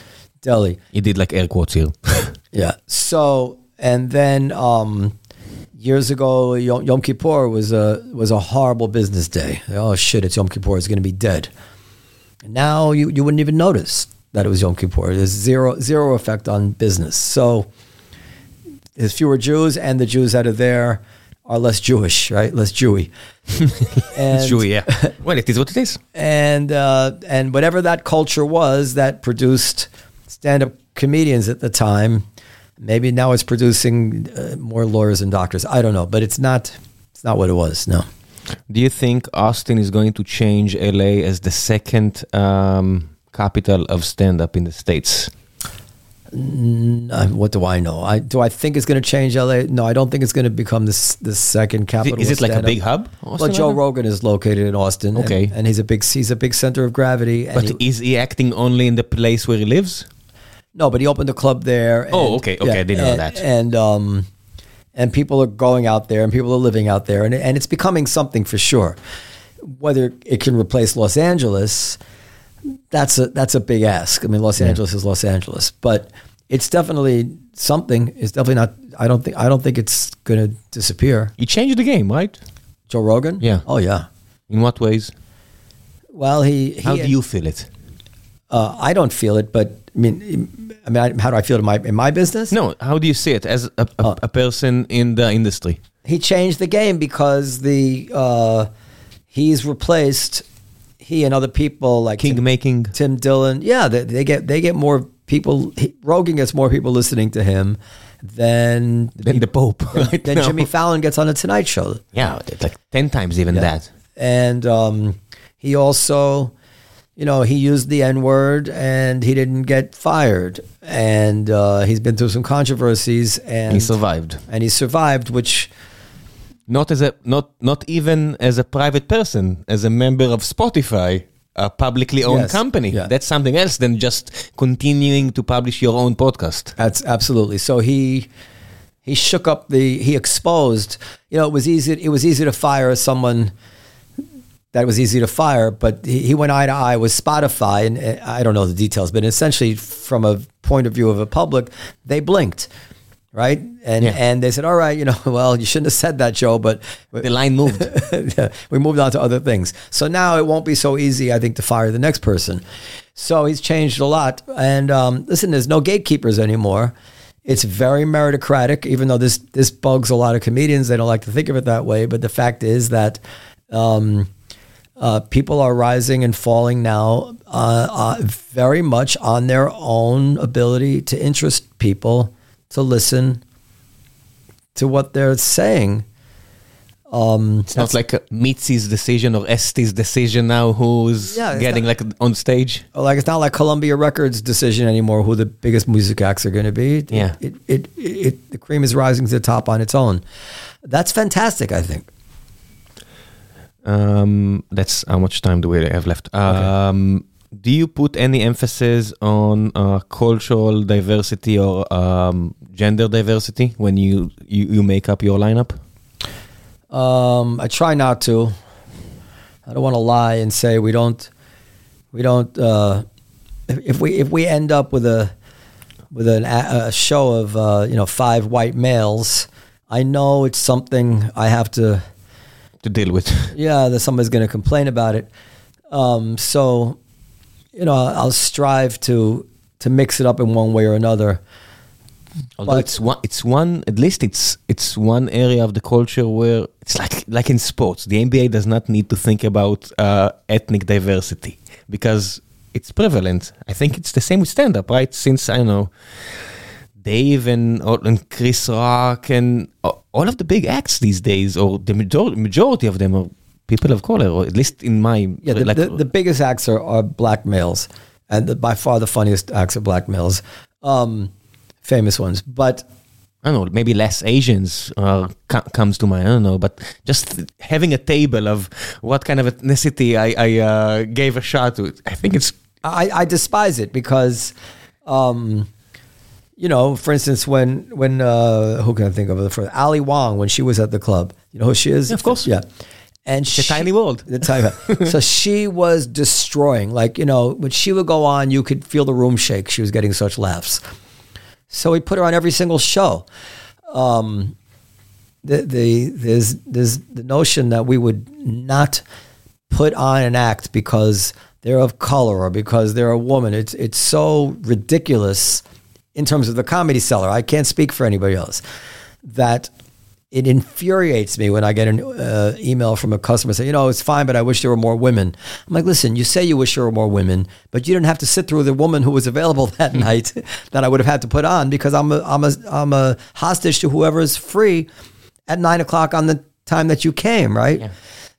deli. You did like air quotes here. Yeah. So and then um, years ago, Yom, Yom Kippur was a was a horrible business day. Oh shit! It's Yom Kippur. It's going to be dead. And now you you wouldn't even notice that it was Yom Kippur. There's zero zero effect on business. So. There's fewer Jews, and the Jews that are there are less Jewish, right? Less Jewy. And, it's Jewy, yeah. Well, it is what it is. And uh, and whatever that culture was that produced stand-up comedians at the time, maybe now it's producing uh, more lawyers and doctors. I don't know, but it's not. It's not what it was. No. Do you think Austin is going to change L A as the second um, capital of stand-up in the States? What do I know? I do I think it's going to change L A? No, I don't think it's going to become this the second capital. Is it like a big hub? Well, Joe Rogan is located in Austin. Okay, and, and he's a big he's a big center of gravity. And but he, is he acting only in the place where he lives? No, but he opened a club there. And, oh, okay, okay, yeah, I didn't and, know that. And um, and people are going out there, and people are living out there, and and it's becoming something for sure. Whether it can replace Los Angeles. That's a that's a big ask. I mean, Los yeah. Angeles is Los Angeles, but it's definitely something. It's definitely not. I don't think. I don't think it's going to disappear. He changed the game, right? Joe Rogan. Yeah. Oh yeah. In what ways? Well, he. he how do you feel it? Uh, I don't feel it, but I mean, I mean, how do I feel in my in my business? No. How do you see it as a, a, uh, a person in the industry? He changed the game because the uh, he's replaced. He and other people like King Tim, making Tim Dillon, yeah, they, they get they get more people. He, Rogan gets more people listening to him than than the Pope. Right than now. Jimmy Fallon gets on the Tonight Show. Yeah, it's like ten times even yeah. that. And um, he also, you know, he used the N word and he didn't get fired. And uh, he's been through some controversies and he survived. And he survived, which. Not as a not not even as a private person, as a member of Spotify, a publicly owned yes. company. Yeah. That's something else than just continuing to publish your own podcast. That's absolutely. So he he shook up the he exposed. You know, it was easy. It was easy to fire someone. That was easy to fire, but he, he went eye to eye with Spotify, and uh, I don't know the details, but essentially, from a point of view of a public, they blinked. Right. And yeah. and they said, all right, you know, well, you shouldn't have said that, Joe, but the line moved. We moved on to other things. So now it won't be so easy, I think, to fire the next person. So he's changed a lot. And um, listen, there's no gatekeepers anymore. It's very meritocratic, even though this this bugs a lot of comedians. They don't like to think of it that way. But the fact is that um, uh, people are rising and falling now uh, uh, very much on their own ability to interest people to listen to what they're saying. Um, it's not like Mitzi's decision or Esti's decision now who's yeah, getting not, like on stage. Like it's not like Columbia Records' decision anymore who the biggest music acts are going to be. Yeah. It, it, it, it, the cream is rising to the top on its own. That's fantastic, I think. Um, that's how much time do we have left. Um, okay. Do you put any emphasis on uh, cultural diversity or um, gender diversity when you, you, you make up your lineup? Um, I try not to. I don't want to lie and say we don't. We don't. Uh, if, if we if we end up with a with an, a show of uh, you know five white males, I know it's something I have to to deal with. Yeah, that somebody's going to complain about it. Um, so. You know, I'll strive to to mix it up in one way or another. Although but, it's one, it's one. At least it's it's one area of the culture where it's like like in sports. The N B A does not need to think about uh, ethnic diversity because it's prevalent. I think it's the same with stand-up, right? Since I don't know, Dave and and Chris Rock and all of the big acts these days, or the majority majority of them are people of color, or at least in my... Yeah, the, like, the, the biggest acts are, are black males, and the, by far the funniest acts are black males, um, famous ones. But... I don't know, maybe less Asians uh, co- comes to mind, I don't know, but just having a table of what kind of ethnicity I, I uh, gave a shot to, I think it's... I, I despise it because, um, you know, for instance, when, when uh, who can I think of the first? Ali Wong, when she was at the club. You know who she is? Yeah, of course. Yeah. And it's she, a tiny world. The tiny so she was destroying. Like, you know, when she would go on, you could feel the room shake. She was getting such laughs. So we put her on every single show. Um, the, the there's there's the notion that we would not put on an act because they're of color or because they're a woman. It's it's so ridiculous in terms of the comedy seller. I can't speak for anybody else. That. It infuriates me when I get an uh, email from a customer saying, you know, it's fine, but I wish there were more women. I'm like, listen, you say you wish there were more women, but you didn't have to sit through the woman who was available that night that I would have had to put on because I'm a, I'm a, I'm a hostage to whoever is free at nine o'clock on the time that you came, right? Yeah.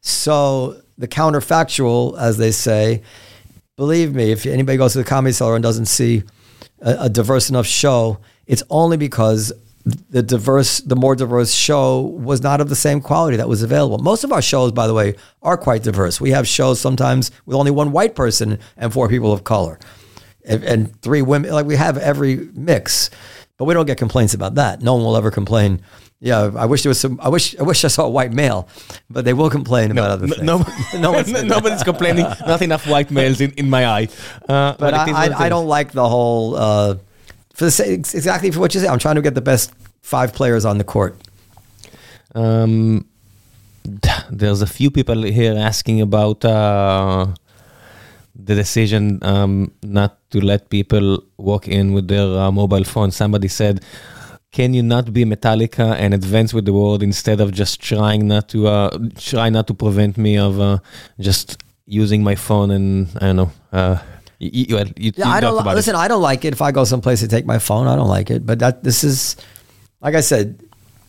So the counterfactual, as they say, believe me, if anybody goes to the Comedy Cellar and doesn't see a, a diverse enough show, it's only because the diverse, the more diverse show was not of the same quality that was available. Most of our shows, by the way, are quite diverse. We have shows sometimes with only one white person and four people of color, and, and three women. Like we have every mix, but we don't get complaints about that. No one will ever complain. Yeah, I wish there was some. I wish. I wish I saw a white male, but they will complain no, about other things. No, no one's, nobody's complaining. Not enough white males in, in my eye. Uh, but I, I, I don't like the whole. Uh, For the same, exactly for what you say, I'm trying to get the best five players on the court. Um, there's a few people here asking about uh, the decision um, not to let people walk in with their uh, mobile phone. Somebody said, "Can you not be Metallica and advance with the world instead of just trying not to uh, try not to prevent me of uh, just using my phone and I don't know." Uh, You, you, you, yeah, you I don't listen. It. I don't like it. If I go someplace to take my phone, I don't like it. But that this is, like I said,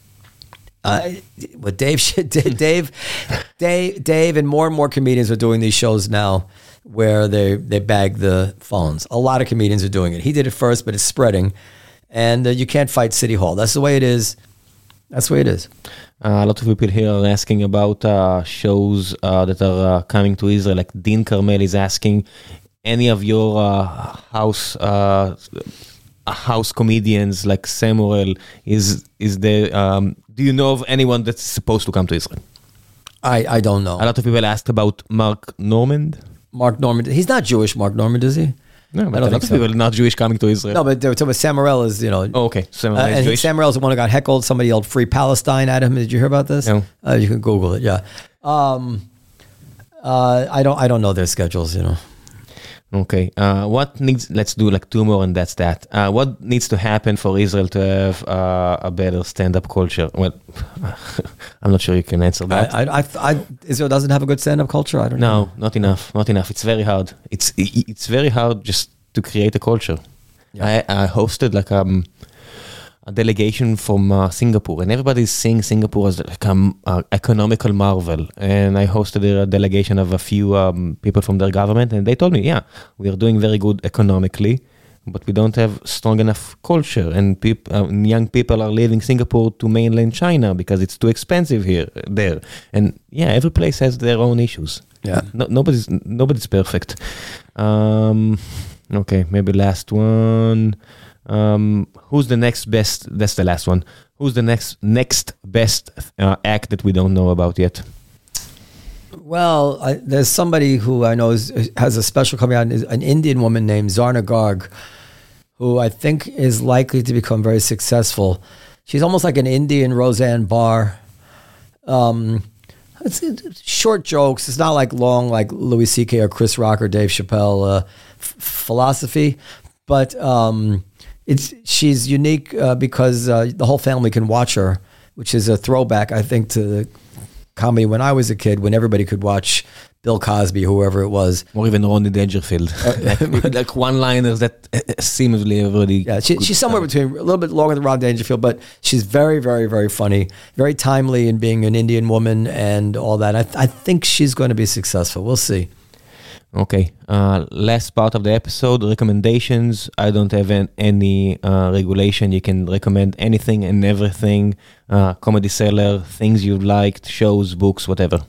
uh, what Dave, Dave, Dave, Dave, and more and more comedians are doing these shows now, where they they bag the phones. A lot of comedians are doing it. He did it first, but it's spreading, and uh, you can't fight City Hall. That's the way it is. That's the way it is. Uh, a lot of people here are asking about uh, shows uh, that are uh, coming to Israel. Like Dean Carmel is asking. Any of your uh, house uh, house comedians like Samuel is is there? Um, do you know of anyone that's supposed to come to Israel? I, I don't know. A lot of people asked about Mark Normand. Mark Normand, he's not Jewish. Mark Normand, is he? No, but I don't a lot of so. people not Jewish coming to Israel. No, but they were talking about Samuel is you know. Oh, okay. Samuel uh, is and Jewish. Samuel's the one who got heckled. Somebody yelled "Free Palestine" at him. Did you hear about this? No. Uh, you can Google it. Yeah. Um, uh, I don't. I don't know their schedules. You know. Okay. Uh, what needs? Let's do like two more, and that's that. Uh, what needs to happen for Israel to have uh, a better stand-up culture? Well, I'm not sure you can answer that. I, I, I, I, Israel doesn't have a good stand-up culture. I don't no, know. No, not enough. Not enough. It's very hard. It's it's very hard just to create a culture. Yeah. I, I hosted like um. a delegation from uh, Singapore, and everybody's seeing Singapore as like an uh, economical marvel. And I hosted a delegation of a few um, people from their government, and they told me, yeah, we are doing very good economically, but we don't have strong enough culture, and peop- uh, young people are leaving Singapore to mainland China because it's too expensive here, there. And yeah, every place has their own issues. Yeah. No, nobody's nobody's perfect. Um, okay, maybe last one. Um, who's the next best? That's the last one. Who's the next next best uh, act that we don't know about yet? Well, I, there's somebody who I know is, has a special coming out, an Indian woman named Zarna Garg, who I think is likely to become very successful. She's almost like an Indian Roseanne Barr. Um, it's, it's short jokes. It's not like long, like Louis C K or Chris Rock or Dave Chappelle uh, f- philosophy, but um, it's she's unique uh, because uh, the whole family can watch her, which is a throwback, I think, to the comedy when I was a kid, when everybody could watch Bill Cosby, whoever it was. Or even Ronnie Dangerfield. like, like one-liners that uh, seemingly everybody... Yeah, she, she's somewhere between, a little bit longer than Ron Dangerfield, but she's very, very, very funny, very timely in being an Indian woman and all that. I, th- I think she's going to be successful. We'll see. Okay. Uh, last part of the episode, recommendations. I don't have an, any uh, regulation. You can recommend anything and everything. Uh, Comedy Cellar, things you liked, shows, books, whatever.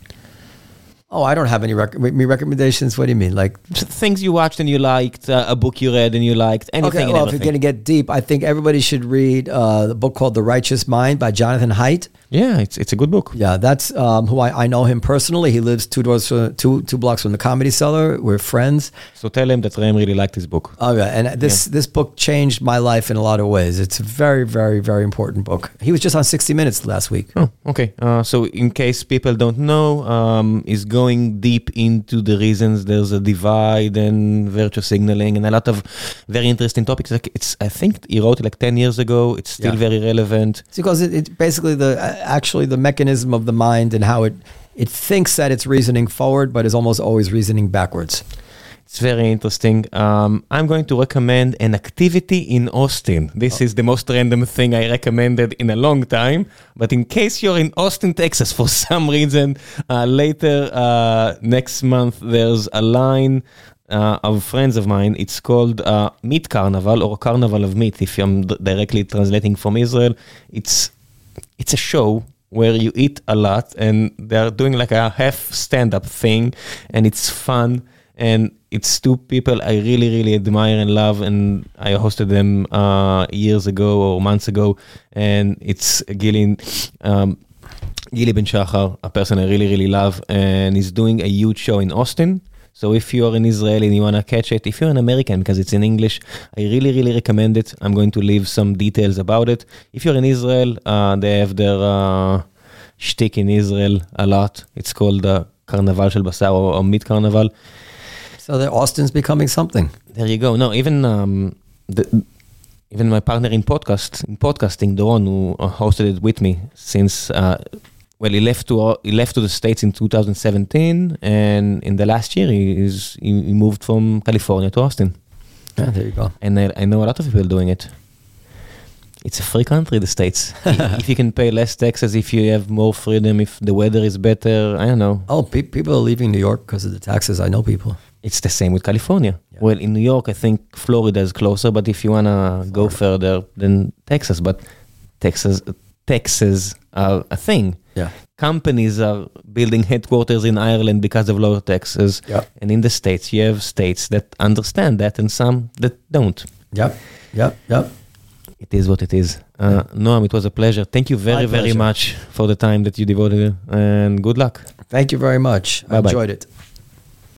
Oh, I don't have any rec- me recommendations. What do you mean? Like things you watched and you liked, uh, a book you read and you liked, anything okay, well, and everything. If you're going to get deep, I think everybody should read uh, the book called The Righteous Mind by Jonathan Haidt. Yeah, it's it's a good book. Yeah, that's um, who I, I know him personally. He lives two doors, from, two two blocks from the Comedy Cellar. We're friends. So tell him that Ram really liked his book. Oh yeah, and this yeah. this book changed my life in a lot of ways. It's a very, very, very important book. He was just on sixty minutes last week. Oh, okay. Uh, so in case people don't know, um, is going deep into the reasons there's a divide and virtue signaling and a lot of very interesting topics. Like it's, I think he wrote it like ten years ago. It's still yeah. very relevant. It's because it, it basically the actually the mechanism of the mind and how it it thinks that it's reasoning forward, but is almost always reasoning backwards. It's very interesting. Um, I'm going to recommend an activity in Austin. This oh. is the most random thing I recommended in a long time. But in case you're in Austin, Texas, for some reason, uh, later uh, next month, there's a line uh, of friends of mine. It's called uh, Meat Carnival or Carnival of Meat, if I'm d- directly translating from Israel. It's it's a show where you eat a lot, and they're doing like a half stand-up thing, and it's fun. And it's two people I really, really admire and love, and I hosted them uh, years ago or months ago, and it's Gili, um, Gili Ben Shachar, a person I really, really love, and he's doing a huge show in Austin. So if you're in Israel and you want to catch it, if you're an American, because it's in English, I really, really recommend it. I'm going to leave some details about it. If you're in Israel, uh, they have their uh, shtick in Israel a lot. It's called uh, Carnaval Shel Basar or, or Meat Carnival. So that Austin's becoming something. There you go. No, even um, the, even my partner in podcast in podcasting, Doron, who hosted it with me since uh, well, he left to uh, he left to the States in two thousand seventeen, and in the last year he is he, he moved from California to Austin. Yeah, there you go. And I, I know a lot of people doing it. It's a free country, the States. If you can pay less taxes, if you have more freedom, if the weather is better, I don't know. Oh, pe- people are leaving New York because of the taxes. I know people. It's the same with California. Yeah. Well, in New York, I think Florida is closer, but if you want to go further, then Texas. But Texas, taxes are a thing. Yeah. Companies are building headquarters in Ireland because of lower taxes. Yeah. And in the States, you have states that understand that and some that don't. Yep, yep, yep. It is what it is. Uh, Noam, it was a pleasure. Thank you very, very much for the time that you devoted, and good luck. Thank you very much. I enjoyed it.